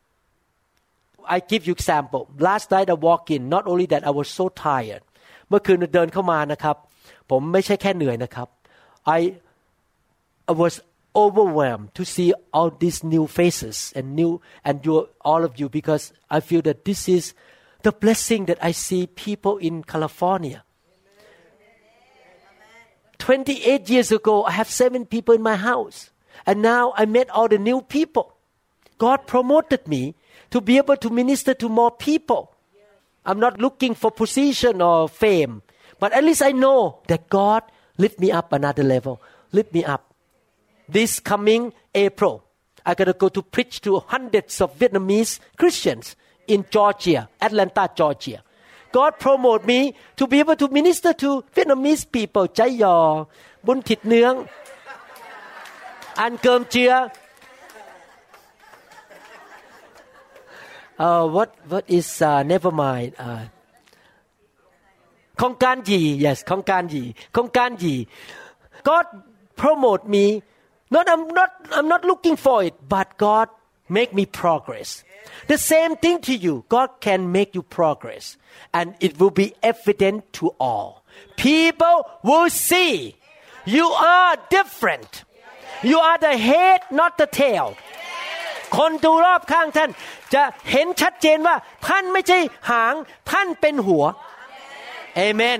I give you example last night I walk in not only that I was so tired เมื่อคืนเดินเข้ามานะครับผมไม่ใช่แค่เหนื่อยนะครับ I was overwhelmed to see all these new faces and all of you because I feel that this is the blessing that I see people in California 28 years ago I have 7 people in my house and now I met all the new people God promoted me to be able to minister to more people I'm not looking for position or fame but at least I know that God lift me up another level lift me up this coming April I gotta go to preach to hundreds of Vietnamese Christians in Georgia Atlanta Georgia God promote me to be able to minister to Vietnamese people ใจยอบุญถิดเนืองอันเกิมเจียwhat is never mind ของการหยี่ yes ของการหยี่ God promote me I'm not looking for it but God make me progress the same thing to you God can make you progress and it will be evident to all people will see you are different you are the head not the tail คนดูรอบข้างท่านจะเห็นชัดเจนว่าท่านไม่ใช่หางท่านเป็นหัว Amen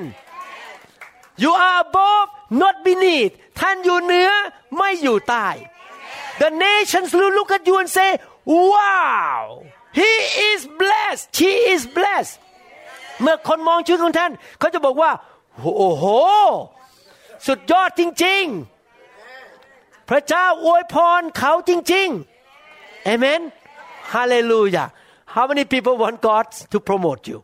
you are above not beneath ท่านอยู่เหนือไม่อยู่ใต้ the nations will look at you and say wow he is blessed she is blessed เมื่อคนมองชีวิตของท่านเขาจะบอกว่าโอ้โหสุดยอดจริงๆพระเจ้าอวยพรเขาจริงๆ Amen Hallelujah How many people want God to promote you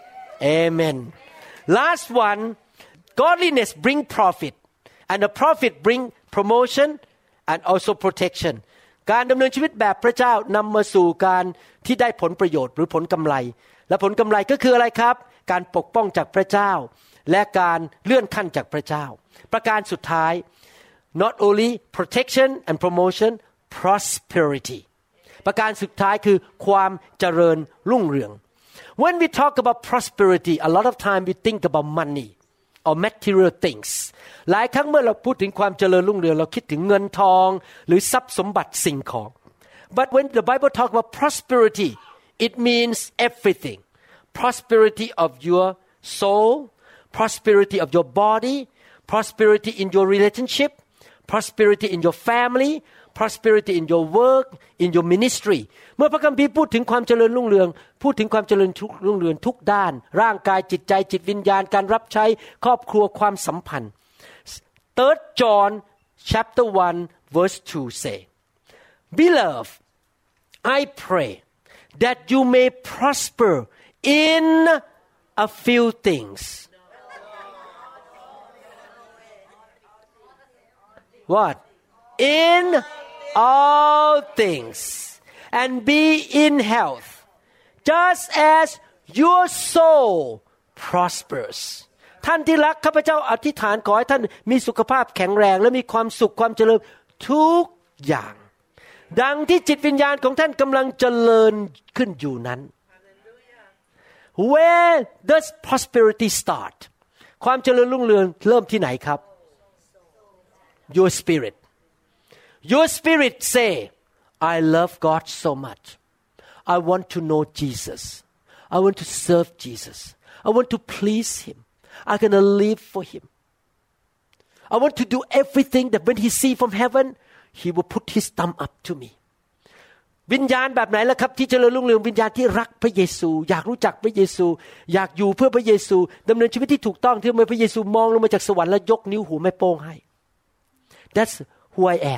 Amen Last one Godliness bring profit and the profit bring promotion and also protection การดำเนินชีวิตแบบพระเจ้านำมาสู่การที่ได้ผลประโยชน์หรือผลกำไรและผลกำไรก็คืออะไรครับการปกป้องจากพระเจ้าและการเลื่อนขั้นจากพระเจ้าประการสุดท้าย not only protection and promotion prosperity ประการสุดท้ายคือความเจริญรุ่งเรือง when we talk about prosperity a lot of time we think about money or material things หลายครั้งเมื่อเราพูดถึงความเจริญรุ่งเรืองเราคิดถึงเงินทองหรือทรัพย์สมบัติสิ่งของ but when the Bible talk about prosperity it means everything prosperity of your soul prosperity of your body prosperity in your relationship prosperity in your family prosperity in your work in your ministry เมื่อพระคัมภีร์พูดถึงความเจริญรุ่งเรืองพูดถึงความเจริญรุ่งเรืองทุกด้านร่างกายจิตใจจิตวิญญาณการรับใช้ครอบครัวความสัมพันธ์ 3 John chapter 1 verse 2 say Beloved I pray that you may prosper in a few things what in all things and be in health just as your soul prospers ท่านที่รักข้าพเจ้าอธิษฐานขอให้ท่านมีสุขภาพแข็งแรงและมีความสุขความเจริญทุกอย่างดังที่จิตวิญญาณของท่านกำลังเจริญขึ้นอยู่นั้น Where does prosperity start ความเจริญรุ่งเรืองเริ่มที่ไหนครับ Your spirit Your spirit say I love God so much I want to know Jesus I want to serve Jesus I want to please Him I'm going to live for Him I want to do everything that when He see from heaven He will put His thumb up to me วิญญาณแบบไหนล่ะครับที่เจริญรุ่งเรืองวิญญาณที่รักพระเยซูอยากรู้จักพระเยซูอยากอยู่เพื่อพระเยซูดำเนินชีวิตที่ถูกต้องที่เมื่อพระเยซูมองลงมาจากสวรรค์แล้วยกนิ้วหูแม่โป้งให้ That's who I am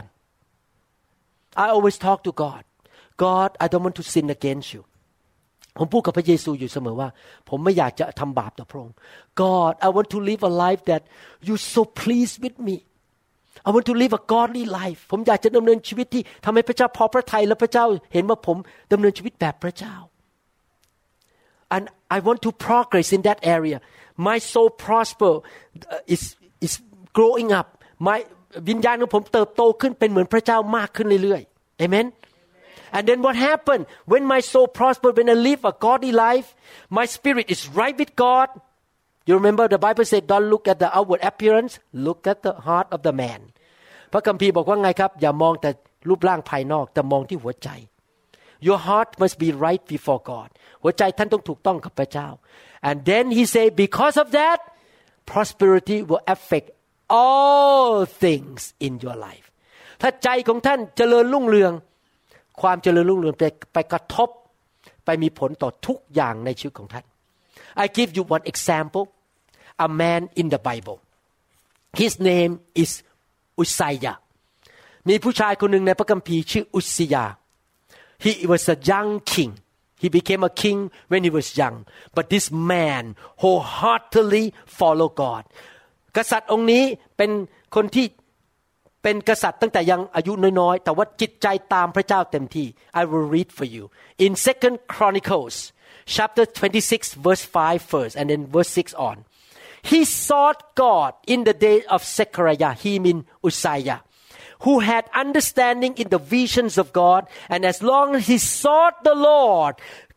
I always talk to God God I don't want to sin against you ผมพูดกับพระเยซูอยู่เสมอว่าผมไม่อยากจะทำบาปต่อพระองค์ God I want to live a life that you so pleased with me I want to live a godly life ผมอยากจะดำเนินชีวิตที่ทำให้พระเจ้าพอพระทัยและพระเจ้าเห็นว่าผมดำเนินชีวิตแบบพระเจ้า and I want to progress in that area my soul prosper is growing up my วิญญาณของผมเติบโตขึ้นเป็นเหมือนพระเจ้ามากขึ้นเรื่อยๆ Amen And then what happened when my soul prospered when I live a godly life my spirit is right with God You remember the Bible said don't look at the outward appearance look at the heart of the man พระคัมภีร์บอกว่าไงครับอย่ามองแต่รูปร่างภายนอกแต่มองที่หัวใจ Your heart must be right before God หัวใจท่านต้องถูกต้องกับพระเจ้า And then he said because of that prosperity will affect all things in your life ถ้าใจของท่านเจริญรุ่งเรืองความเจริญรุ่งเรืองไปกระทบไปมีผลต่อทุกอย่างในชีวิตของท่าน I give you one example a man in the Bible his name is Uzziah มีผู้ชายคนหนึ่งในพระคัมภีร์ชื่ออุซซิยา he was a young king he became a king when he was young but this man wholeheartedly followed God กษัตริย์องค์นี้เป็นคนที่เป็นกษัตริย์ตั้งแต่ยังอายุน้อยๆแต่ว่าจิตใจตามพระเจ้าเต็มที่ I will read for you in 2 Chronicles chapter 26 verse 5 first and then verse 6 on he sought God in the day of Zechariah he mean Uzziah who had understanding in the visions of God and as long as he sought the Lord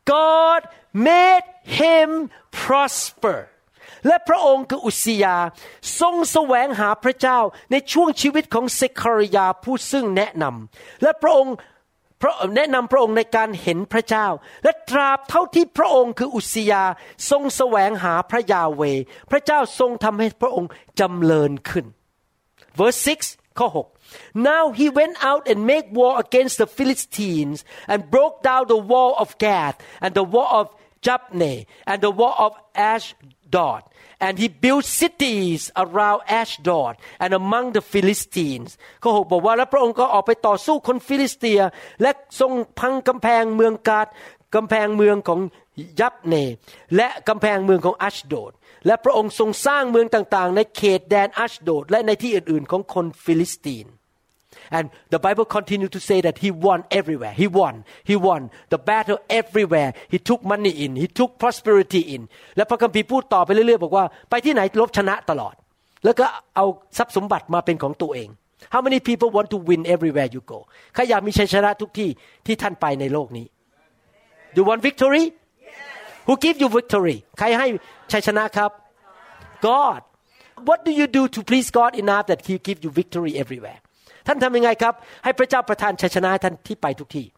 God made him prosperและพระองค์คืออุซซิยาทรงแสวงหาพระเจ้าในช่วงชีวิตของเซคาริยาผู้ซึ่งแนะนำและพระองค์แนะนำพระองค์ในการเห็นพระเจ้าและตราบเท่าที่พระองค์คืออุซซิยาทรงแสวงหาพระยาเวห์พระเจ้าทรงทำให้พระองค์จำเริญขึ้น verse 6 ข้อ 6 Now he went out and made war against the Philistines and broke down the wall of Gath and the wall of Jabneh and the wall of Ashdod and he built cities around Ashdod and among the Philistines ข้อ 6 บอกว่าแล้วพระองค์ก็ออกไปต่อสู้คนฟิลิสเตียและทรงพังกำแพงเมืองกาดกำแพงเมืองของยับเนและกำแพงเมืองของอัชโดดและพระองค์ทรงสร้างเมืองต่างๆในเขตแดนอัชโดดและในที่อื่นๆของคนฟิลิสเตียนAnd the Bible continued to say that he won everywhere. He won the battle everywhere. He took money in. He took prosperity in. และพระคัมภีร์พูดต่อไปเรื่อยๆบอกว่าไปที่ไหนรบชนะตลอดแล้วก็เอาทรัพย์สมบัติมาเป็นของตัวเอง How many people want to win everywhere you go ใครอยากมีชัยชนะทุกที่ที่ท่านไปในโลกนี้ You want victory? Who give you victory? ใครให้ชัยชนะครับ God. What do you do to please God enough that He give you victory everywhere?ท่านทำยังไงครับให้พระเจ้าประทานชัยชนะให้ท่านที่ไปทุกที่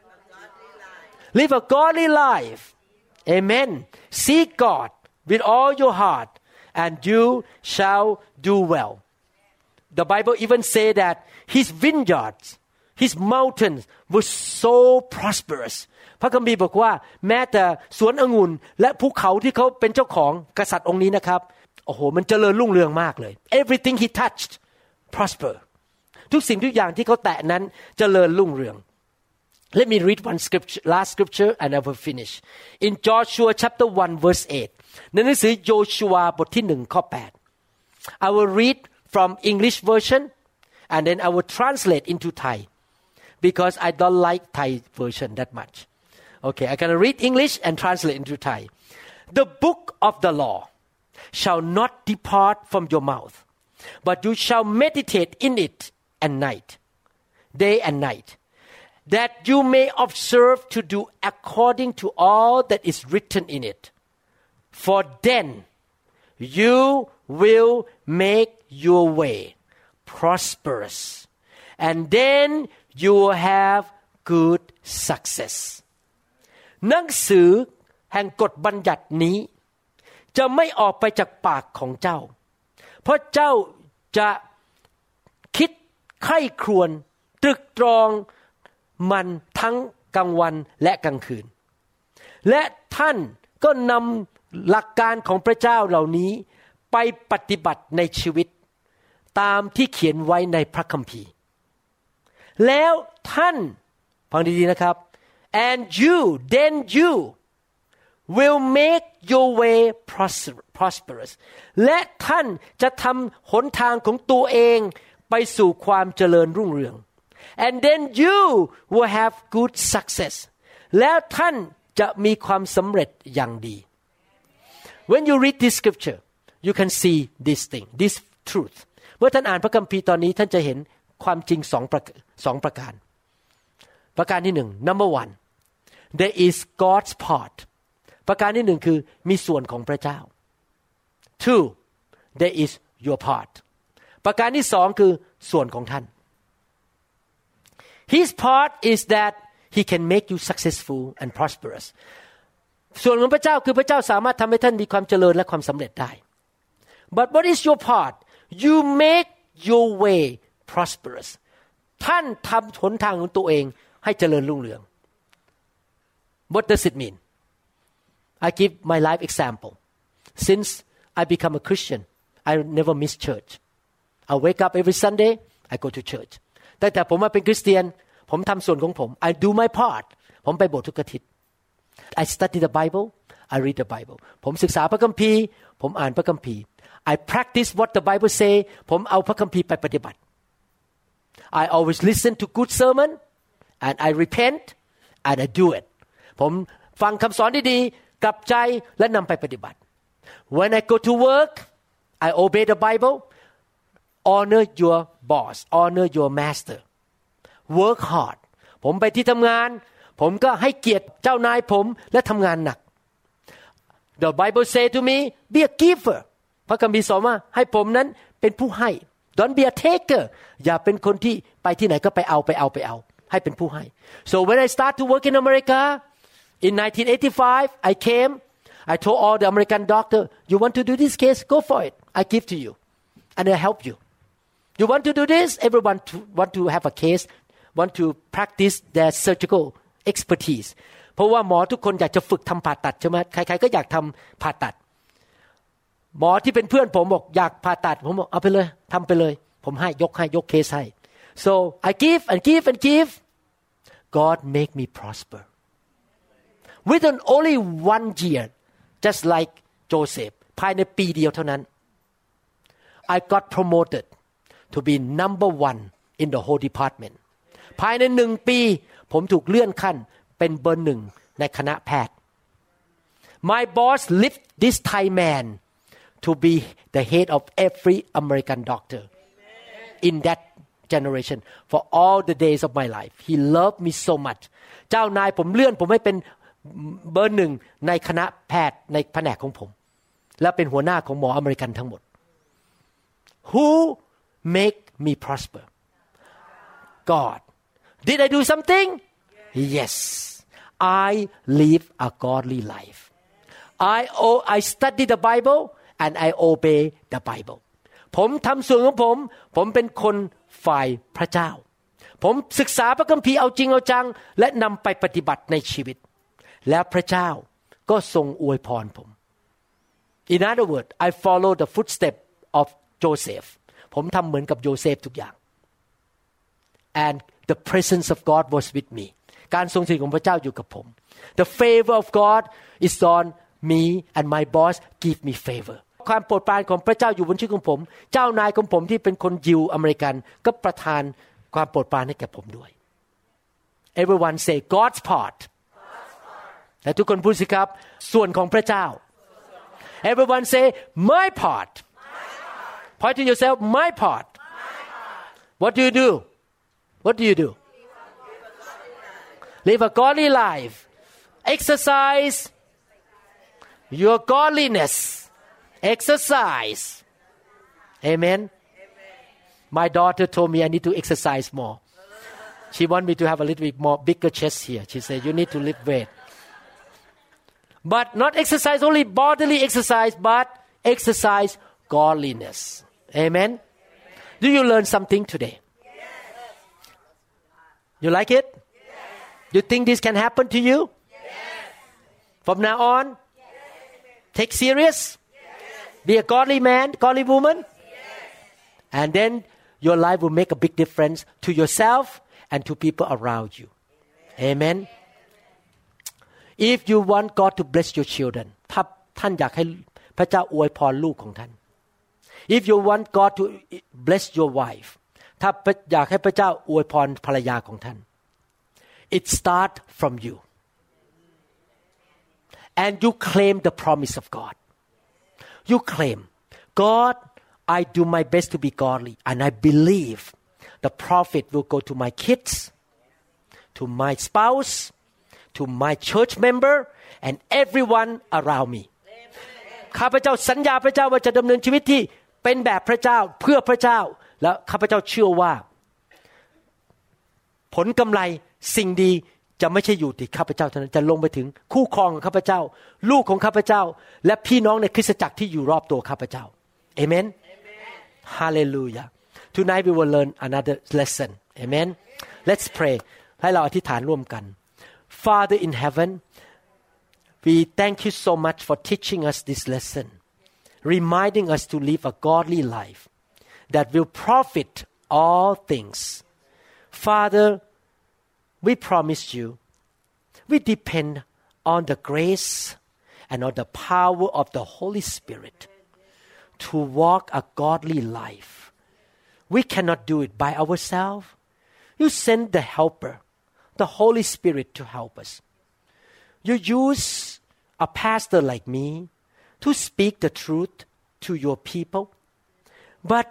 Live a godly life Amen Seek God with all your heart and you shall do well The Bible even say that his vineyards his mountains were so prosperous พระคัมภีร์บอกว่าแม้แต่สวนองุ่นและภูเขาที่เขาเป็นเจ้าของกษัตริย์องค์นี้นะครับโอ้โหมันเจริญรุ่งเรืองมากเลย Everything he touched prosperทุกสิ่งทุกอย่างที่เขาแตะนั้นเจริญรุ่งเรือง Let me read one scripture last scripture and I will finish in Joshua chapter 1 verse 8ในหนังสือโยชูวาบทที่1ข้อ8 I will read from English version and then I will translate into Thai because I don't like Thai version that much. Okay, I'm going to read English and translate into Thai. The book of the law shall not depart from your mouth, but you shall meditate in it day and night, that you may observe to do according to all that is written in it. For then you will make your way prosperous, and then you will have good success. หนังสือแห่งกฎบัญญัตินี้จะไม่ออกไปจากปากของเจ้าเพราะเจ้าจะคิดใคร่ครวญตรึกตรองมันทั้งกลางวันและกลางคืนและท่านก็นำหลักการของพระเจ้าเหล่านี้ไปปฏิบัติในชีวิตตามที่เขียนไว้ในพระคัมภีร์แล้วท่านฟังดีๆนะครับ and then you will make your way prosperous และท่านจะทำหนทางของตัวเองไปสู่ความเจริญรุ่งเรือง and then you will have good success แล้วท่านจะมีความสำเร็จอย่างดี when you read this scripture you can see this thing this truth เมื่อท่านอ่านพระคัมภีร์ตอนนี้ท่านจะเห็นความจริงสองประการประการที่หนึ่ง number one there is God's part ประการที่หนึ่งคือมีส่วนของพระเจ้า two there is your part ประการที่สองคือส่วนของท่าน his part is that he can make you successful and prosperous ส่วนของพระเจ้าคือพระเจ้าสามารถทำให้ท่านมีความเจริญและความสำเร็จได้ but what is your part you make your way prosperous ท่านทำหนทางของตัวเองให้เจริญรุ่งเรือง what does it mean I give my life example since I become a Christian I never miss church I wake up every Sunday I go to church ตั้งแต่ผมมาเป็นคริสเตียนผมทำส่วนของผม I do my part ผมไปโบสถ์ทุกอาทิตย์ I study the Bible I read the Bible ผมศึกษาพระคัมภีร์ผมอ่านพระคัมภีร์ I practice what the Bible say ผมเอาพระคัมภีร์ไปปฏิบัติ I always listen to good sermon and I repent and I do it ผมฟังคำสอนดีๆกลับใจและนำไปปฏิบัติ When I go to work I obey the Bible honor your boss honor your master work hard ผมไปที่ทำงานผมก็ให้เกียรติเจ้านายผมและทำงานหนัก The Bible say to me be a giver พระคัมภีร์สอนว่าให้ผมนั้นเป็นผู้ให้ Don't be a taker อย่าเป็นคนที่ไปที่ไหนก็ไปเอาให้เป็นผู้ให้ So when I start to work in America in 1985 I came I told all the American doctor you want to do this case go for it I give to you and I help you you want to do this everyone want to have a case want to practice their surgical expertise เพราะว่าหมอทุกคนอยากจะฝึกทำผ่าตัดใช่ไหมใครๆก็อยากทำผ่าตัดหมอที่เป็นเพื่อนผมบอกอยากผ่าตัดผมบอกเอาไปเลยทำไปเลยผมให้ยกเคสให้ so I give and give and give God make me prosper within only 1 year just like Joseph ภายในปีเดียวเท่านั้น I got promoted to be number 1 in the whole department ภายใน1 ปีผมถูกเลื่อนขั้นเป็นเบอร์ 1ในคณะแพทย์ My boss lift this Thai man to be the head of every American doctor in that generation for all the days of my life he loved me so much เจ้านายผมเลื่อนผมให้เป็นเบอร์ 1ในคณะแพทย์ในแผนกของผมและเป็นหัวหน้าของหมออเมริกันทั้งหมด Who make me prosper God Did I do something Yes I live a godly life I study the Bible and I obey the Bible ผมทำส่วนของผมเป็นคนฝ่ายพระเจ้าผมศึกษาพระคัมภีร์เอาจริงเอาจังและนำไปปฏิบัติในชีวิตแล้วพระเจ้าก็ทรงอวยพรผม In other words I follow the footsteps of Joseph ผมทำเหมือนกับโยเซฟทุกอย่าง and the presence of God was with me การทรงสถิตของพระเจ้าอยู่กับผม The favor of God is on me and my boss give me favor ความโปรดปรานของพระเจ้าอยู่บนชีวิตของผมเจ้านายของผมที่เป็นคนยิวอเมริกันก็ประทานความโปรดปรานให้แก่ผมด้วย Everyone say God's part และทุกคนพูดสิครับส่วนของพระเจ้า Everyone say my part point to yourself my part What do you do What do you do Live a godly life Exercise your godliness Exercise Amen My daughter told me I need to exercise more She want me to have a little bit more bigger chest here She said you need to lift weight But not exercise only bodily exercise but exercise godliness Amen Do you learn something today You like it You think this can happen to you From now on Take serious Be a godly man godly woman And then your life will make a big difference to yourself and to people around you Amen If you want God to bless your children ถ้าท่านอยากให้พระเจ้าอวยพรลูกของท่าน If you want God to bless your wife ถ้าอยากให้พระเจ้าอวยพรภรรยาของท่าน It start from you and you claim the promise of God You claim God I do my best to be godly and I believe the profit will go to my kids to my spouse to my church member and everyone around me ข้าพเจ้าสัญญาพระเจ้าว่าจะดำเนินชีวิตที่เป็นแบบพระเจ้าเพื่อพระเจ้าและข้าพเจ้าเชื่อว่าผลกำไรสิ่งดีจะไม่ใช่อยู่ที่ข้าพเจ้าเท่านั้นจะลงไปถึงคู่ครองของข้าพเจ้าลูกของข้าพเจ้าและพี่น้องในคริสตจักรที่อยู่รอบตัวข้าพเจ้า Amen Hallelujah Tonight we will learn another lesson Amen Let's pray ให้เราอธิษฐานร่วมกัน Father in heaven we thank you so much for teaching us this lesson reminding us to live a godly life that will profit all things Father we promise you we depend on the grace and on the power of the Holy Spirit to walk a godly life we cannot do it by ourselves you send the helper the Holy Spirit to help us you use a pastor like me to speak the truth to your people but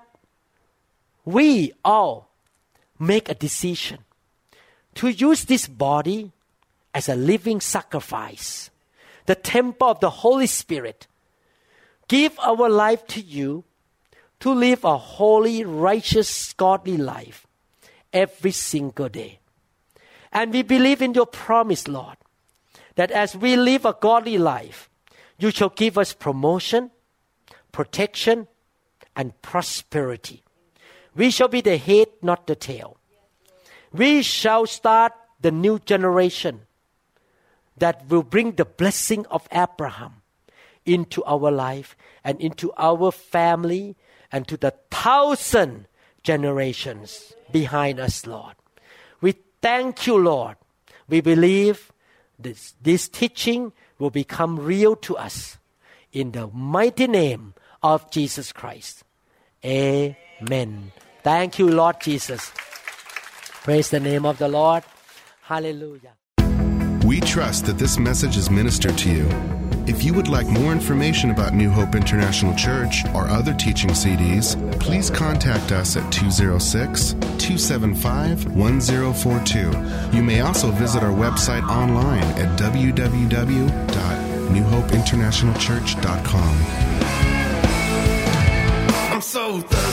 we all make a decision to use this body as a living sacrifice the temple of the Holy Spirit give our life to you to live a holy righteous godly life every single day and we believe in your promise Lord that as we live a godly life you shall give us promotion protection and prosperity we shall be the head not the tail we shall start the new generation that will bring the blessing of Abraham into our life and into our family and to the 1,000 generations behind us Lord we thank you Lord we believe this teaching will become real to us in the mighty name of Jesus Christ Amen thank you Lord Jesus praise the name of the Lord hallelujah We trust that this message is ministered to you. If you would like more information about New Hope International Church or other teaching CDs, please contact us at 206-275-1042. You may also visit our website online at www.newhopeinternationalchurch.com. I'm so thirsty.